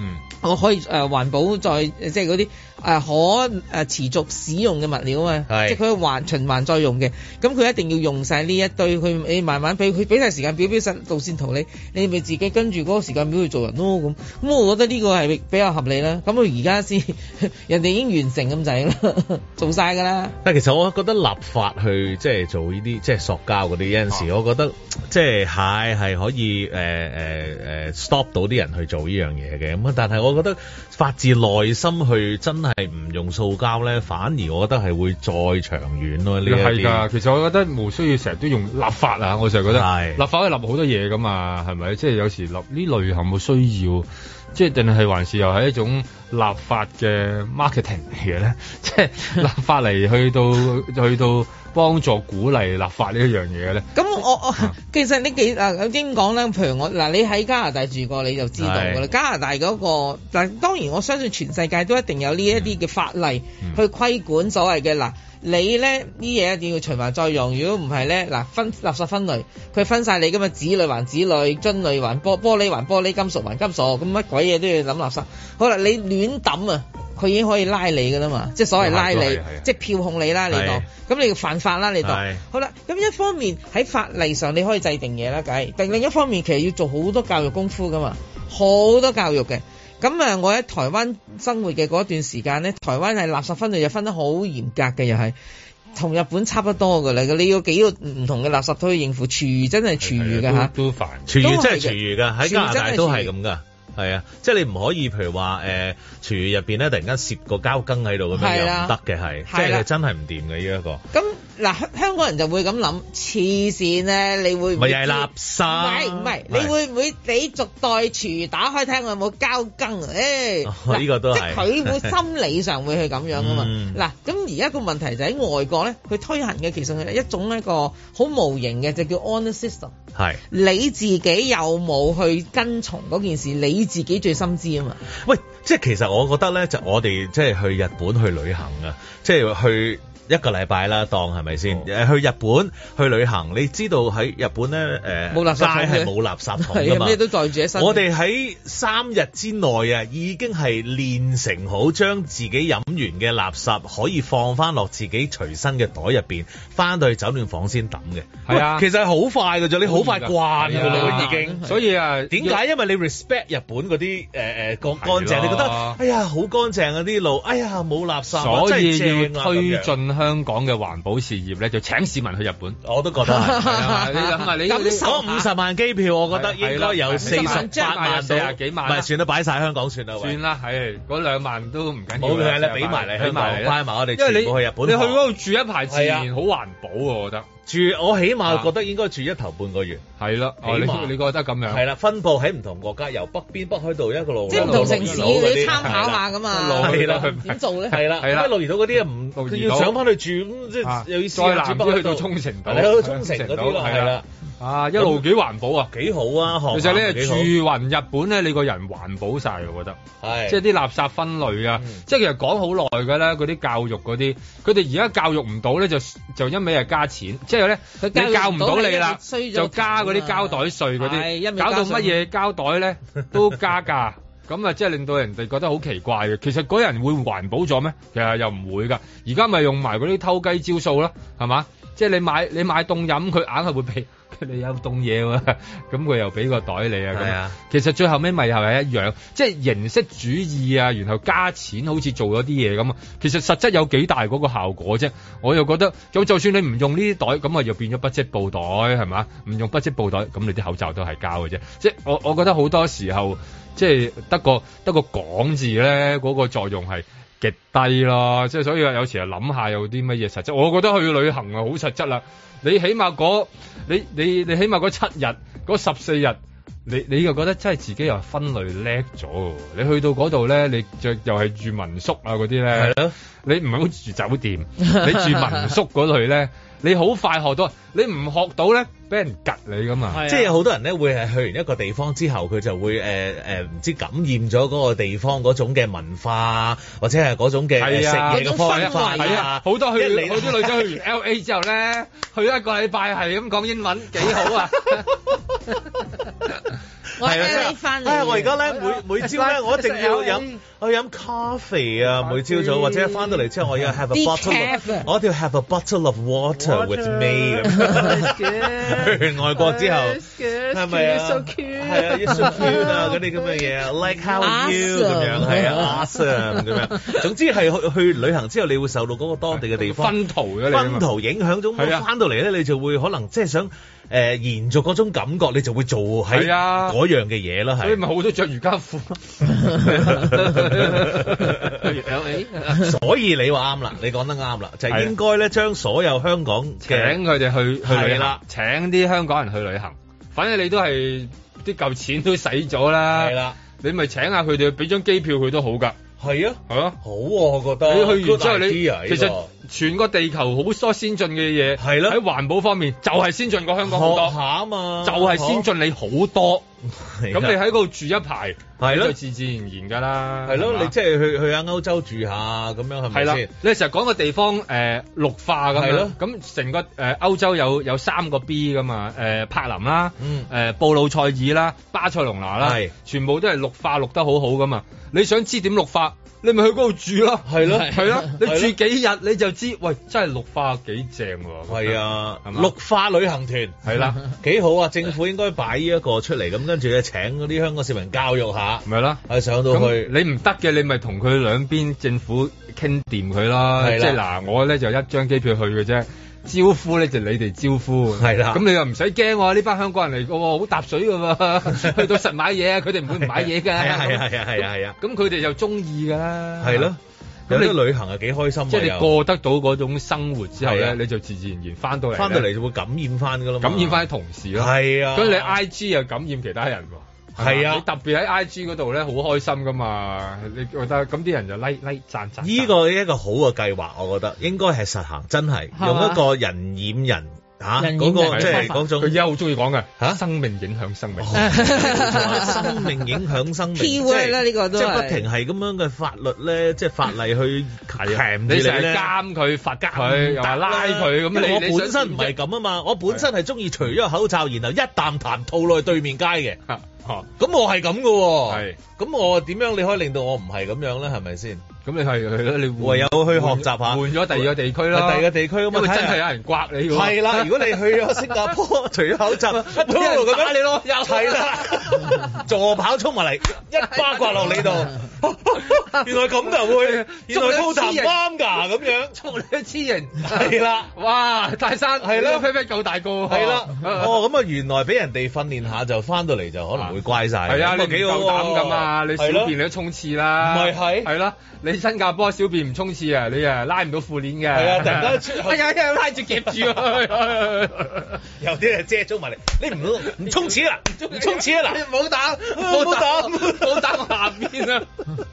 我可以誒、呃、環保再即係嗰啲誒可誒持續使用嘅物料啊嘛，即係佢環循環再用嘅，咁佢一定要用晒呢一堆，佢你慢慢俾佢俾晒時間表，俾晒路線圖你，你咪自己跟住嗰個時間表去做人咯咁。咁我覺得呢個係比較合理啦。咁佢而家先人哋已經完成咁滯啦，做晒㗎啦。 但其實我覺得立法去即係做呢啲即係塑膠嗰啲有陣時，我覺得即係係係可以誒誒誒 stop 到啲人去做呢樣嘢嘅。咁但係我覺得發自內心去真係唔用塑膠咧，反而我覺得係會再長遠咯。呢係㗎，其實我覺得冇需要成日都用立法啊。我成日覺得立法可以立好多嘢㗎嘛，係咪？即係有時立呢類係冇需要，即係定係還是又係一種立法嘅 marketing 嚟嘅咧？即係立法嚟去到去到幫助鼓勵立法呢一樣嘢咧？咁我我、啊、其實呢幾嗱點講咧？譬如我嗱，你喺加拿大住過你就知道㗎啦。加拿大嗰、那個嗱，當然我相信全世界都一定有呢一啲嘅法例去規管所謂嘅嗱。你咧呢嘢一定要循環再用，如果唔係咧嗱分垃圾分類，佢分晒你㗎嘛，紙類還紙類，樽類還玻玻璃還玻璃，金屬還金屬，咁乜鬼嘢都要諗垃圾。好啦，你亂抌啊，佢已經可以拉你㗎啦嘛，即係所謂拉你，即係票控你啦，你當，咁你要犯法啦，你當。好啦，咁一方面喺法例上你可以制定嘢啦，梗係，但另一方面其實要做好多教育功夫㗎嘛，好多教育嘅。咁啊，我喺台灣生活嘅嗰段時間咧，台灣係垃圾分類又分得好嚴格嘅，又係同日本差不多㗎啦。你要幾個唔同嘅垃圾都可以應付，廚餘真係廚餘㗎嚇， 都煩， 廚餘真係廚餘㗎，喺加拿大都係咁㗎。係啊，即係你唔可以，譬如話誒，廚餘入邊咧突然間攝個膠羹喺度咁樣又唔得嘅，係即係真係唔掂嘅呢一個。 咁嗱，香港人就會咁諗，黐線咧，你會唔會？ 咪又係垃圾？唔係唔係，你會唔會你逐袋廚餘打開聽我有冇膠羹啊？誒、欸，呢、 哦這個都係， 即係佢會心理上會去咁樣噶嘛。嗱、嗯，咁而家個問題就喺外國咧，佢推行嘅其實係一種一個好無形嘅，就叫 honor system。係你自己有冇去跟從嗰件事？你自己最深知啊嘛。 喂，即係其實我覺得咧，就我哋即係去日本去旅行啊，即係去一個禮拜啦，當係咪先？誒、哦，去日本去旅行，你知道喺日本咧誒，冇、呃、垃圾桶係冇垃圾桶㗎嘛， 咩都袋住喺身。 我哋喺三日之內啊，已經係練成好將自己飲完嘅垃圾可以放翻落自己隨身嘅袋入邊，翻到去酒店房先抌嘅。係啊，其實係好快㗎啫，你好快慣㗎啦已經。所以啊，點解？因為你 respect 日本嗰啲誒誒個乾淨，你覺得哎呀好乾淨啊啲路，哎呀冇垃圾， 所以真係正啊， 要推進香港嘅環保事業咧，就請市民去日本。 我都覺得係。 你諗下，你嗰五十萬機票，我覺得應該有四十八萬到四十幾萬， 唔係算啦，擺晒香港算啦。 算啦，係嗰兩萬都唔緊要。 冇嘅，你俾埋嚟，俾埋嚟，埋我哋全部去日本。 你去嗰度住一排自然好環保喎，我覺得。 住我起碼覺得應該住一頭半個月。係啦， 你你覺得咁樣？ 係啦，分佈喺唔同國家，由北邊北海道一個路， 即係唔同城市你參考下㗎嘛。 係啦， 點做咧？ 係啦，係啦，鹿兒島嗰啲唔佢要上翻去住，咁即係又要再南啲去到沖繩島， 係啦，沖繩嗰啲咯，係啦。 啊，一路幾環保啊， 幾好啊！其實你住勻日本咧，你個人環保晒，我覺得。係。即係啲垃圾分類啊，嗯、即係其實講好耐㗎啦，嗰啲教育嗰啲，佢哋而家教育唔到咧，就就一味係加錢，即係咧你教唔到你啦，就加嗰啲膠袋稅嗰啲，搞到乜嘢膠袋咧都加價，咁啊即係令到人哋覺得好奇怪嘅。其實嗰人會環保咗咩？其實又唔會㗎。而家咪用埋嗰啲偷雞招數啦，係嘛？即係你買你買凍飲，佢硬係會俾。你有凍嘢喎，咁佢又俾個袋你啊，咁其實最後尾咪又係一樣，即係形式主義啊，然後加錢好似做咗啲嘢咁啊，其實實質有幾大嗰個效果啫？我又覺得，就就算你唔用呢啲袋，咁啊又變咗不織布袋係嘛？唔用不織布袋，咁你啲口罩都係膠嘅啫。即係我我覺得好多時候，即係得個得個講字咧，嗰個作用係極低咯。即係所以有時啊諗下有啲乜嘢實質，我覺得去旅行啊好實質啦。你起碼嗰你你你起碼嗰七日嗰十四日，你你又覺得真係自己又分類叻咗。你去到嗰度咧，你就又係住民宿啊嗰啲咧，係咯，你唔係好住酒店，你住民宿嗰類咧，你好快學到。你唔學到咧，俾人趌你㗎嘛。 即係有好多人咧會係去完一個地方之後，佢就會誒誒唔知感染咗嗰個地方嗰種嘅文化，或者係嗰種嘅食嘢嘅方法啊。 好多去好多女仔去完 L A 之後咧，去一個禮拜係咁講英文幾好啊。 我係你翻嚟。 我而家咧每每朝咧，我一定要飲我飲咖啡啊！每朝早或者翻到嚟之後，我要 have a bottle， 我一定要 have a bottle of water with me 咁。去外國之後係咪啊？係啊 ，you're so cute 啊嗰啲咁嘅嘢 ，like how are you 咁樣係啊 ，awesome 咁樣。總之係去去旅行之後，你會受到嗰個當地嘅地方薰陶嘅薰陶影響咗，翻到嚟咧你就會可能即係想。誒、呃、延續嗰種感覺，你就會做喺嗰樣嘅嘢啦，係。所以咪好多着瑜伽褲。所以你話啱啦，你講得啱啦，就係、是、應該咧將所有香港嘅請佢哋去去旅行，請啲香港人去旅行。反正你都係啲舊錢都使咗啦，係啦，你咪請下佢哋，俾張機票佢都好㗎。係啊，係啊，好啊，我覺得。你去完之後你，其實全個地球好多先進嘅嘢，係咯，喺環保方面就係先進過香港好多。學下啊嘛，就係先進你好多。咁你喺嗰度住一排，係咯，自自然然㗎啦。係咯，你即係去去下歐洲住下咁樣係咪先？你成日講個地方誒綠化咁樣，咁成個誒歐洲有有三個 B 㗎嘛？誒柏林啦，誒布魯塞爾啦，巴塞隆拿啦，全部都係綠化綠得好好㗎嘛。你想知點綠化？你咪去嗰度住咯，係咯，係咯，你住幾日你就知，喂，真係綠化幾正喎。係啊，綠化旅行團係啦，幾好啊！政府應該擺呢一個出嚟，咁跟住咧請嗰啲香港市民教育下，咪啦，係上到去。你唔得嘅，你咪同佢兩邊政府傾掂佢啦。即係嗱，我咧就一張機票去嘅啫。招呼咧就你哋招呼，係啦。咁你又唔使驚喎，呢班香港人嚟嘅喎，好搭水嘅喎，去到實買嘢，佢哋唔會唔買嘢㗎。係啊係啊係啊係啊係啊。咁佢哋就中意㗎啦。係咯。咁你旅行係幾開心，即係你過得到嗰種生活之後咧，你就自自然然翻到嚟，翻到嚟就會感染翻㗎啦嘛。感染翻啲同事咯。係啊。咁你 I G 又感染其他人喎。係啊，你特別喺 I G 嗰度咧，好開心噶嘛？你覺得咁啲人就 like like 讚讚。呢個一個好嘅計劃，我覺得應該係實行，真係用一個人染人嚇嗰個即係嗰種。佢而家好中意講嘅嚇，生命影響生命，生命影響生命。Key word 啦，呢個都係即係不停係咁樣嘅法律咧，即係法例去鉗住你咧，監佢、罰佢，又話拉佢咁。你我本身唔係咁啊嘛，我本身係中意除咗個口罩，然後一啖痰吐落去對面街嘅。咁、啊、我係咁嘅喎，咁我點樣你可以令到我唔係咁樣咧？係咪先？咁你係係咯，你唯有去學習下，換咗第二個地區啦，第二個地區咁啊，因為真係有人刮你喎。係啦，如果你去咗新加坡，除咗口罩，一路咁打你咯，又係啦，助跑衝埋嚟，一巴刮落你度。原來咁就會，原來高談啱㗎咁樣，捉你一黐人，係啦，哇！泰山係啦，飛飛夠大個，係啦，哦咁啊，原來俾人哋訓練下就翻到嚟就可能會乖晒。係啊，你幾夠膽㗎嘛？你小便你都衝刺啦，唔係係係啦，你新加坡小便唔衝刺啊，你啊拉唔到褲鏈嘅，係啊，突然間出，哎呀，一拉住夾住啊，有啲係遮咗埋嚟，你唔唔衝刺啦，唔衝刺啊嗱，你唔好打，唔好打，唔好打我下邊啊！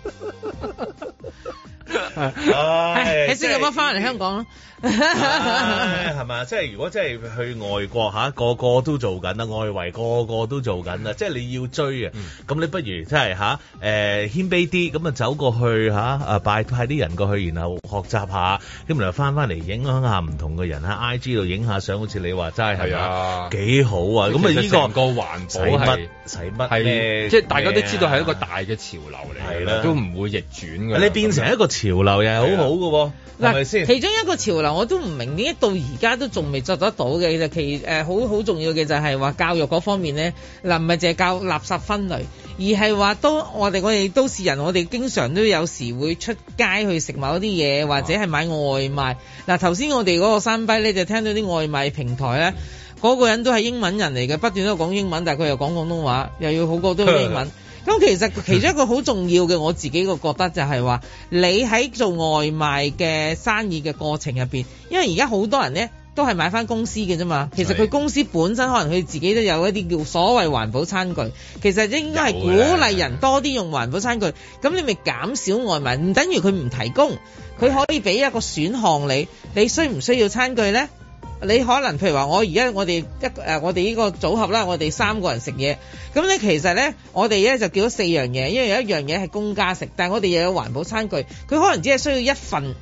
唉，喺新加坡翻嚟香港咯，係咪？即係如果真係去外國嚇，個個都做緊啦，外圍個個都做緊啦，即係你要追啊！咁你不如即係嚇誒謙卑啲，咁啊走過去嚇啊拜派啲人過去，然後學習下，咁然後翻翻嚟影響下唔同嘅人喺 I G 度影下相，好似你話齋係啊，幾好啊！咁啊呢個個環保係使乜係即係大家都知道係一個大嘅潮流嚟，係啦，都唔會逆轉嘅。你變成一個潮流又係好好嘅喎，係咪先？其中一個潮流我都唔明點解到而家都仲未做得到嘅，其實其誒好好重要嘅就係話教育嗰方面咧，嗱唔係淨係教垃圾分類，而係話都我哋我哋都市人，我哋經常都有時會出街去食某啲嘢，或者係買外賣。嗱頭先我哋嗰個山逼咧就聽到啲外賣平台咧，嗰個人都係英文人嚟嘅，不斷都講英文，但係佢又講廣東話，又要好過都英文。咁其實其中一個好重要嘅，我自己個覺得就係話，你喺做外賣嘅生意嘅過程入邊，因為而家好多人咧都係買翻公司嘅啫嘛。其實佢公司本身可能佢自己都有一啲叫所謂環保餐具，其實應該係鼓勵人多啲用環保餐具。咁你咪減少外賣，唔等於佢唔提供，佢可以俾一個選項你。你需唔需要餐具咧？你可能譬如話，我而家我哋一誒我哋呢個組合啦，我哋三個人食嘢，咁咧其實咧我哋咧就叫咗四樣嘢，因為有一樣嘢係公家食，但係我哋又有環保餐具，佢可能只係需要一份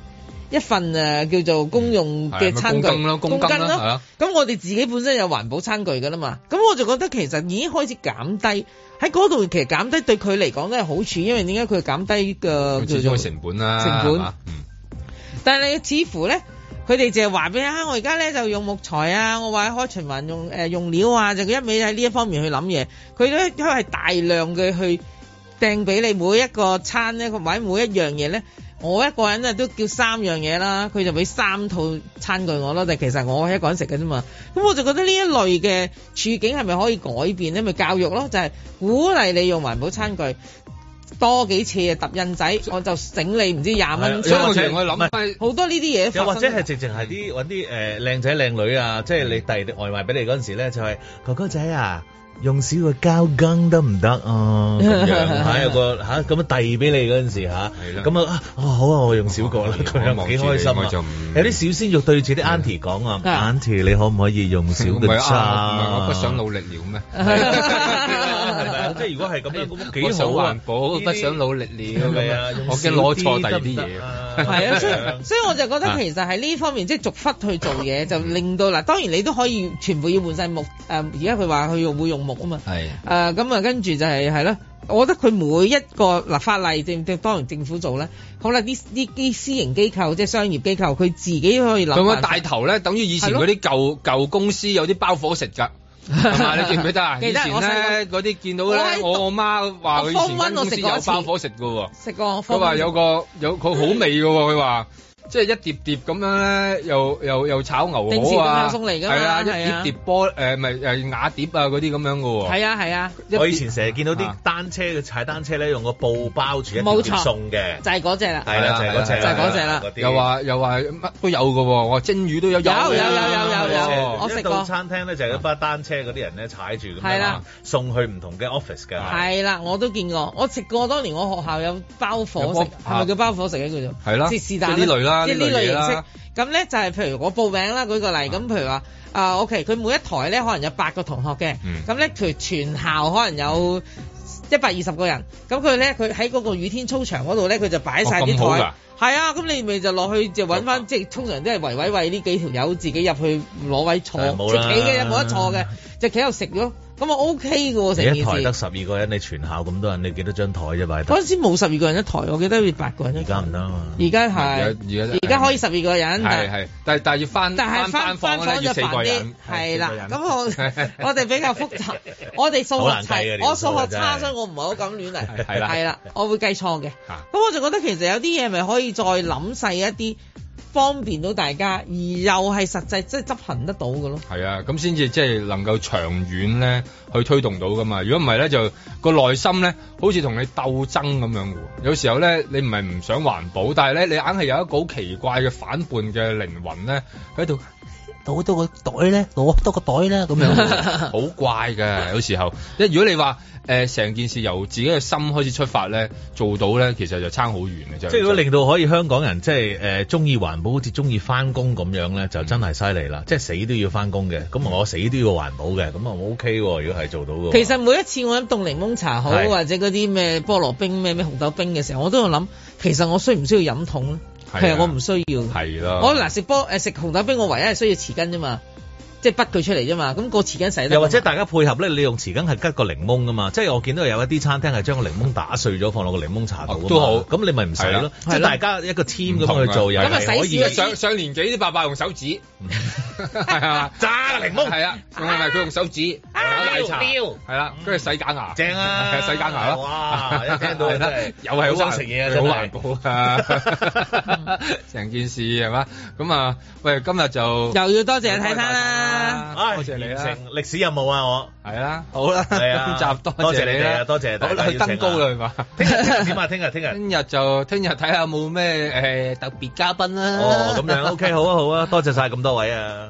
一份誒叫做公用嘅餐具， 公斤咯，公斤咯。 咁我哋自己本身有環保餐具㗎啦嘛，咁我就覺得其實已經開始減低喺嗰度，其實減低對佢嚟講都係好處，因為點解佢減低嘅叫做成本啦， 成本。嗯。但係你似乎咧。佢哋就係話俾你啊！我而家咧就用木材啊，我話開循環用誒、呃、用料啊，就佢一味喺呢一方面去諗嘢。佢咧都係大量嘅去掟俾你每一個餐咧，或者每一樣嘢咧。我一個人啊都叫三樣嘢啦，佢就俾三套餐具我咯。但其實我一個人食嘅啫嘛。咁我就覺得呢一類嘅處境係咪可以改變咧？咪教育咯，就係、是、鼓勵你用環保餐具。多幾次啊，揼印仔，我就整你唔知廿蚊。 所以我成日我諗好多呢啲嘢， 又或者係直情係啲揾啲誒靚仔靚女啊，即係你遞啲外賣俾你嗰陣時咧，就係、是、哥哥仔啊，用少個膠羹得唔得啊？咁樣嚇有個嚇咁樣遞俾你嗰陣時嚇，咁啊啊好啊，我用少個啦，佢又幾開心啊！有啲小鮮肉對住啲 auntie 講啊 ，auntie 你可唔可以用少個餐？ 唔係我不想努力了咩？ 即係如果係咁樣，咁幾好。我想環保，不想努力了。係啊，我驚攞錯第二啲嘢。 係啊，所以所以我就覺得其實喺呢方面即係逐忽去做嘢，就令到嗱，當然你都可以全部要換晒木。誒，而家佢話佢用會用木啊嘛。係。誒，咁啊，跟住就係係咯。我覺得佢每一個嗱法例政政當然政府做咧，好啦，啲啲啲私營機構即係商業機構，佢自己可以諗。 咁啊，帶頭咧，等於以前嗰啲舊舊公司有啲包伙食㗎。係嘛？你記唔記得啊？以前咧嗰啲見到咧，我我媽話佢以前間公司有包伙食㗎喎。食過。佢話有個有佢好味㗎喎，佢話。即係一碟碟咁樣咧，又又又炒牛河啊， 送嚟㗎嘛， 係啊，一碟碟波誒，咪誒瓦碟啊嗰啲咁樣㗎喎。 係啊係啊， 我以前成日見到啲單車嘅踩單車咧，用個布包住一碟碟送嘅， 就係嗰隻啦。 係啦，就係嗰隻， 就係嗰隻啦。 又話又話乜都有㗎喎，我話蒸魚都有。有有有有有有， 我食過。 到餐廳咧就係一班單車嗰啲人咧踩住咁樣送去唔同嘅 office 㗎。 係啦，我都見過，我食過。當年我學校有包伙食，係咪叫包伙食咧？叫做係啦， 即係是但呢類啦， 即係呢類形式。咁咧就係譬如我報名啦，舉個例，咁譬如話啊 OK，佢每一台咧可能有八個同學嘅，咁咧譬如全校可能有一百二十個人，咁佢咧佢喺嗰個雨天操場嗰度咧，佢就擺晒啲台，係啊，咁你咪就落去就揾翻，即係通常都係圍圍圍呢幾條友自己入去攞位坐，即係企嘅冇得坐嘅，就企喺度食咯。咁啊 OK 嘅喎，成件事。一台得十二個人，你全校咁多人，你幾多張台啫？擺嗰陣時冇十二個人一台，我記得要八個人一台。 而家唔得啊嘛。 而家係，而家而家可以十二個人。 係係，但係但係要翻但係翻翻房就煩啲。係啦，咁我我哋比較複雜，我哋數學差，我數學差，所以我唔係好敢亂嚟。係啦，係啦，我會計錯嘅。咁我就覺得其實有啲嘢咪可以再諗細一啲。方便到大家，而又係實際即係執行得到嘅咯。 係啊，咁先至即係能夠長遠咧去推動到噶嘛。如果唔係咧，就個內心咧好似同你鬥爭咁樣嘅。有時候咧，你唔係唔想環保，但係咧你硬係有一個好奇怪嘅反叛嘅靈魂咧喺度。攞多個袋咧，攞多個袋咧，咁樣好怪嘅。有時候，即係如果你話誒成件事由自己嘅心開始出發咧，做到咧，其實就差好遠嘅啫。即係如果令到可以香港人即係誒中意環保，好似中意翻工咁樣咧，就真係犀利啦！即係死都要翻工嘅，咁我死都要環保嘅，咁啊我 OK 喎。如果係做到嘅， 其實每一次我飲凍檸檬茶好，或者嗰啲咩菠蘿冰、咩咩紅豆冰嘅時候，我都有諗，其實我需唔需要飲桶咧？其實我唔需要， 係咯。 我嗱食波誒食紅豆冰，我唯一係需要匙羹啫嘛，即係滗佢出嚟啫嘛。咁個匙羹使得。 又或者大家配合咧，你用匙羹係吉個檸檬噶嘛？即係我見到有一啲餐廳係將個檸檬打碎咗，放落個檸檬茶度。 都好， 咁你咪唔使咯。即係大家一個 team 咁去做，又係可以。 上上年紀啲伯伯用手指，係嘛？ 揸個檸檬， 係啊，唔係佢用手指搞奶茶，係啦，跟住洗假牙， 正啊， 洗假牙咯。 哇！一聽到真係又係好想食嘢啊，真係好環保啊！成件事係嘛？咁啊，喂，今日就又要多謝睇餐啦， 多謝你啦！歷史任務啊，我係啦，好啦，係啊，今集多謝你啦， 多謝大家去登高啦，係嘛？ 聽日點啊？聽日聽日聽日就聽日睇下有冇咩誒特別嘉賓啦。 哦，咁樣 OK，好啊好啊，多謝晒咁多位啊！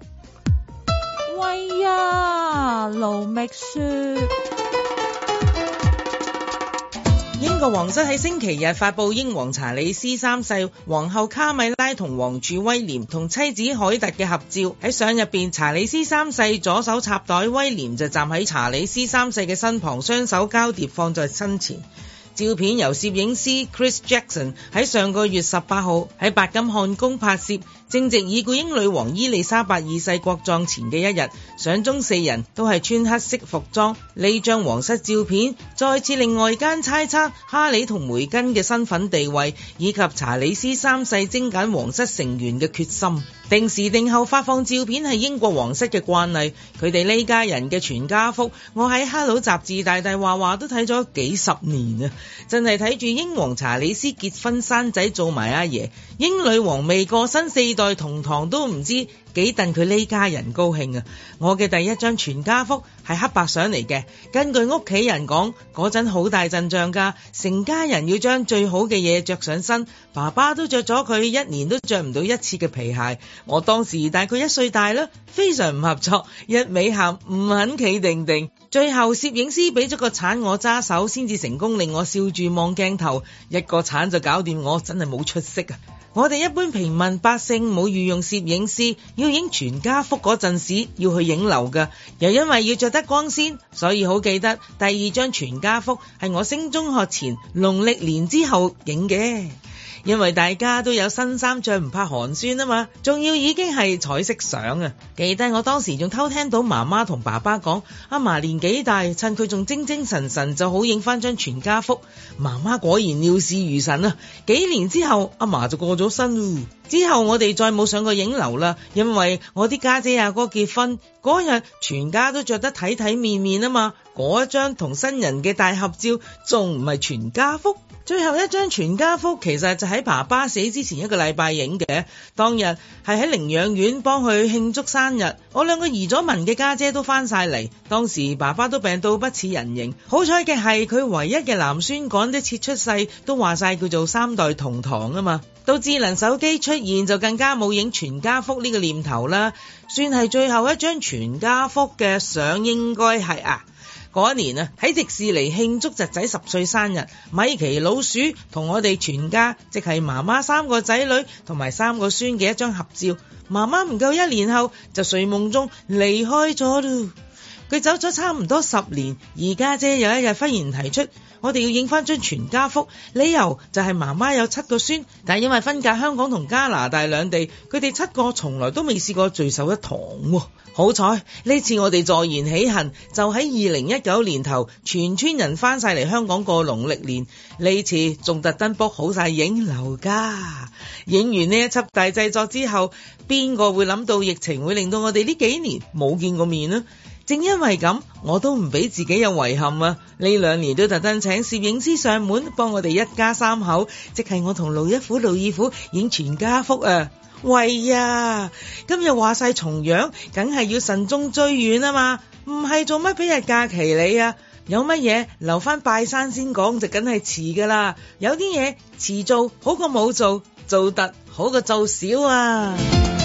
喂呀，盧覓雪。 英國皇室喺星期日發布英皇查理斯三世、皇后卡米拉同皇儲威廉同妻子凱特嘅合照。喺相入邊，查理斯三世左手插袋，威廉就站喺查理斯三世嘅身旁，雙手交疊放在身前。 照片由攝影師 Chris Jackson 喺上個月十八號喺白金漢宮拍攝，正值已故英女王伊麗莎白二世國葬前嘅一日，相中四人都係穿黑色服裝。呢張皇室照片再次令外間猜測哈里同梅根嘅身份地位，以及查理斯三世精簡皇室成員嘅決心。定時定候發放照片係英國皇室嘅慣例，佢哋呢家人嘅全家福，我喺 Hello 雜誌大大話話都睇咗幾十年啊！真係睇住英皇查理斯結婚生仔做埋阿爺，英女王未過身四代同堂都唔知幾戥佢呢家人高興啊！我嘅第一張全家福係黑白相嚟嘅，根據屋企人講，嗰陣好大陣仗㗎，成家人要將最好嘅嘢着上身，爸爸都着咗佢一年都着唔到一次嘅皮鞋。我當時大概一歲大啦，非常唔合作，一味喊唔肯企定定。最後攝影師俾咗個鏟我揸手，先至成功令我笑住望鏡頭，一個鏟就搞掂我，真係冇出息啊！我哋一般平民百姓冇御用攝影師，要影全家福嗰陣時要去影樓㗎，又因為要着得光鮮，所以好記得第二張全家福係我升中學前農曆年之後影嘅。因為大家都有新衫着，唔怕寒酸啊嘛，仲要已經係彩色相啊！記得我當時仲偷聽到媽媽同爸爸講，阿嫲年紀大，趁佢仲精精神神就好影翻張全家福。媽媽果然料事如神啊！幾年之後，阿嫲就過咗身咯。之後我哋再冇上過影樓啦，因為我啲家姐阿哥結婚嗰日，全家都着得體體面面啊嘛。嗰一張同新人嘅大合照，仲唔係全家福？最後一張全家福其實就喺爸爸死之前一個禮拜影嘅，當日係喺寧養院幫佢慶祝生日，我兩個移咗民嘅家姐都翻晒嚟，當時爸爸都病到不似人形，好彩嘅係佢唯一嘅男孫趕得切出世，都話晒叫做三代同堂啊嘛。到智能手機出現就更加冇影全家福呢個念頭啦，算係最後一張全家福嘅相應該係啊。嗰一年啊，喺迪士尼慶祝侄仔十歲生日，米奇老鼠同我哋全家，即係媽媽三個仔女同埋三個孫嘅一張合照。媽媽唔夠一年後就睡夢中離開咗咯。佢走咗差唔多十年，而家姐有一日忽然提出，我哋要影翻張全家福，理由就係媽媽有七個孫，但係因為分隔香港同加拿大兩地，佢哋七個從來都未試過聚首一堂喎。好彩呢次我哋坐言起行，就喺二零一九年頭，全村人翻晒嚟香港過農曆年。呢次仲特登 book 好晒影樓㗎。影完呢一輯大製作之後，邊個會諗到疫情會令到我哋呢幾年冇見過面呢？正因為咁，我都唔俾自己有遺憾啊！呢兩年都特登請攝影師上門幫我哋一家三口，即係我同盧一虎、盧二虎影全家福啊！喂呀，今日話晒重陽，梗係要慎終追遠啊嘛，唔係做乜俾日假期你啊？有乜嘢留翻拜山先講就梗係遲噶啦，有啲嘢遲做好過冇做，做得好過做少啊！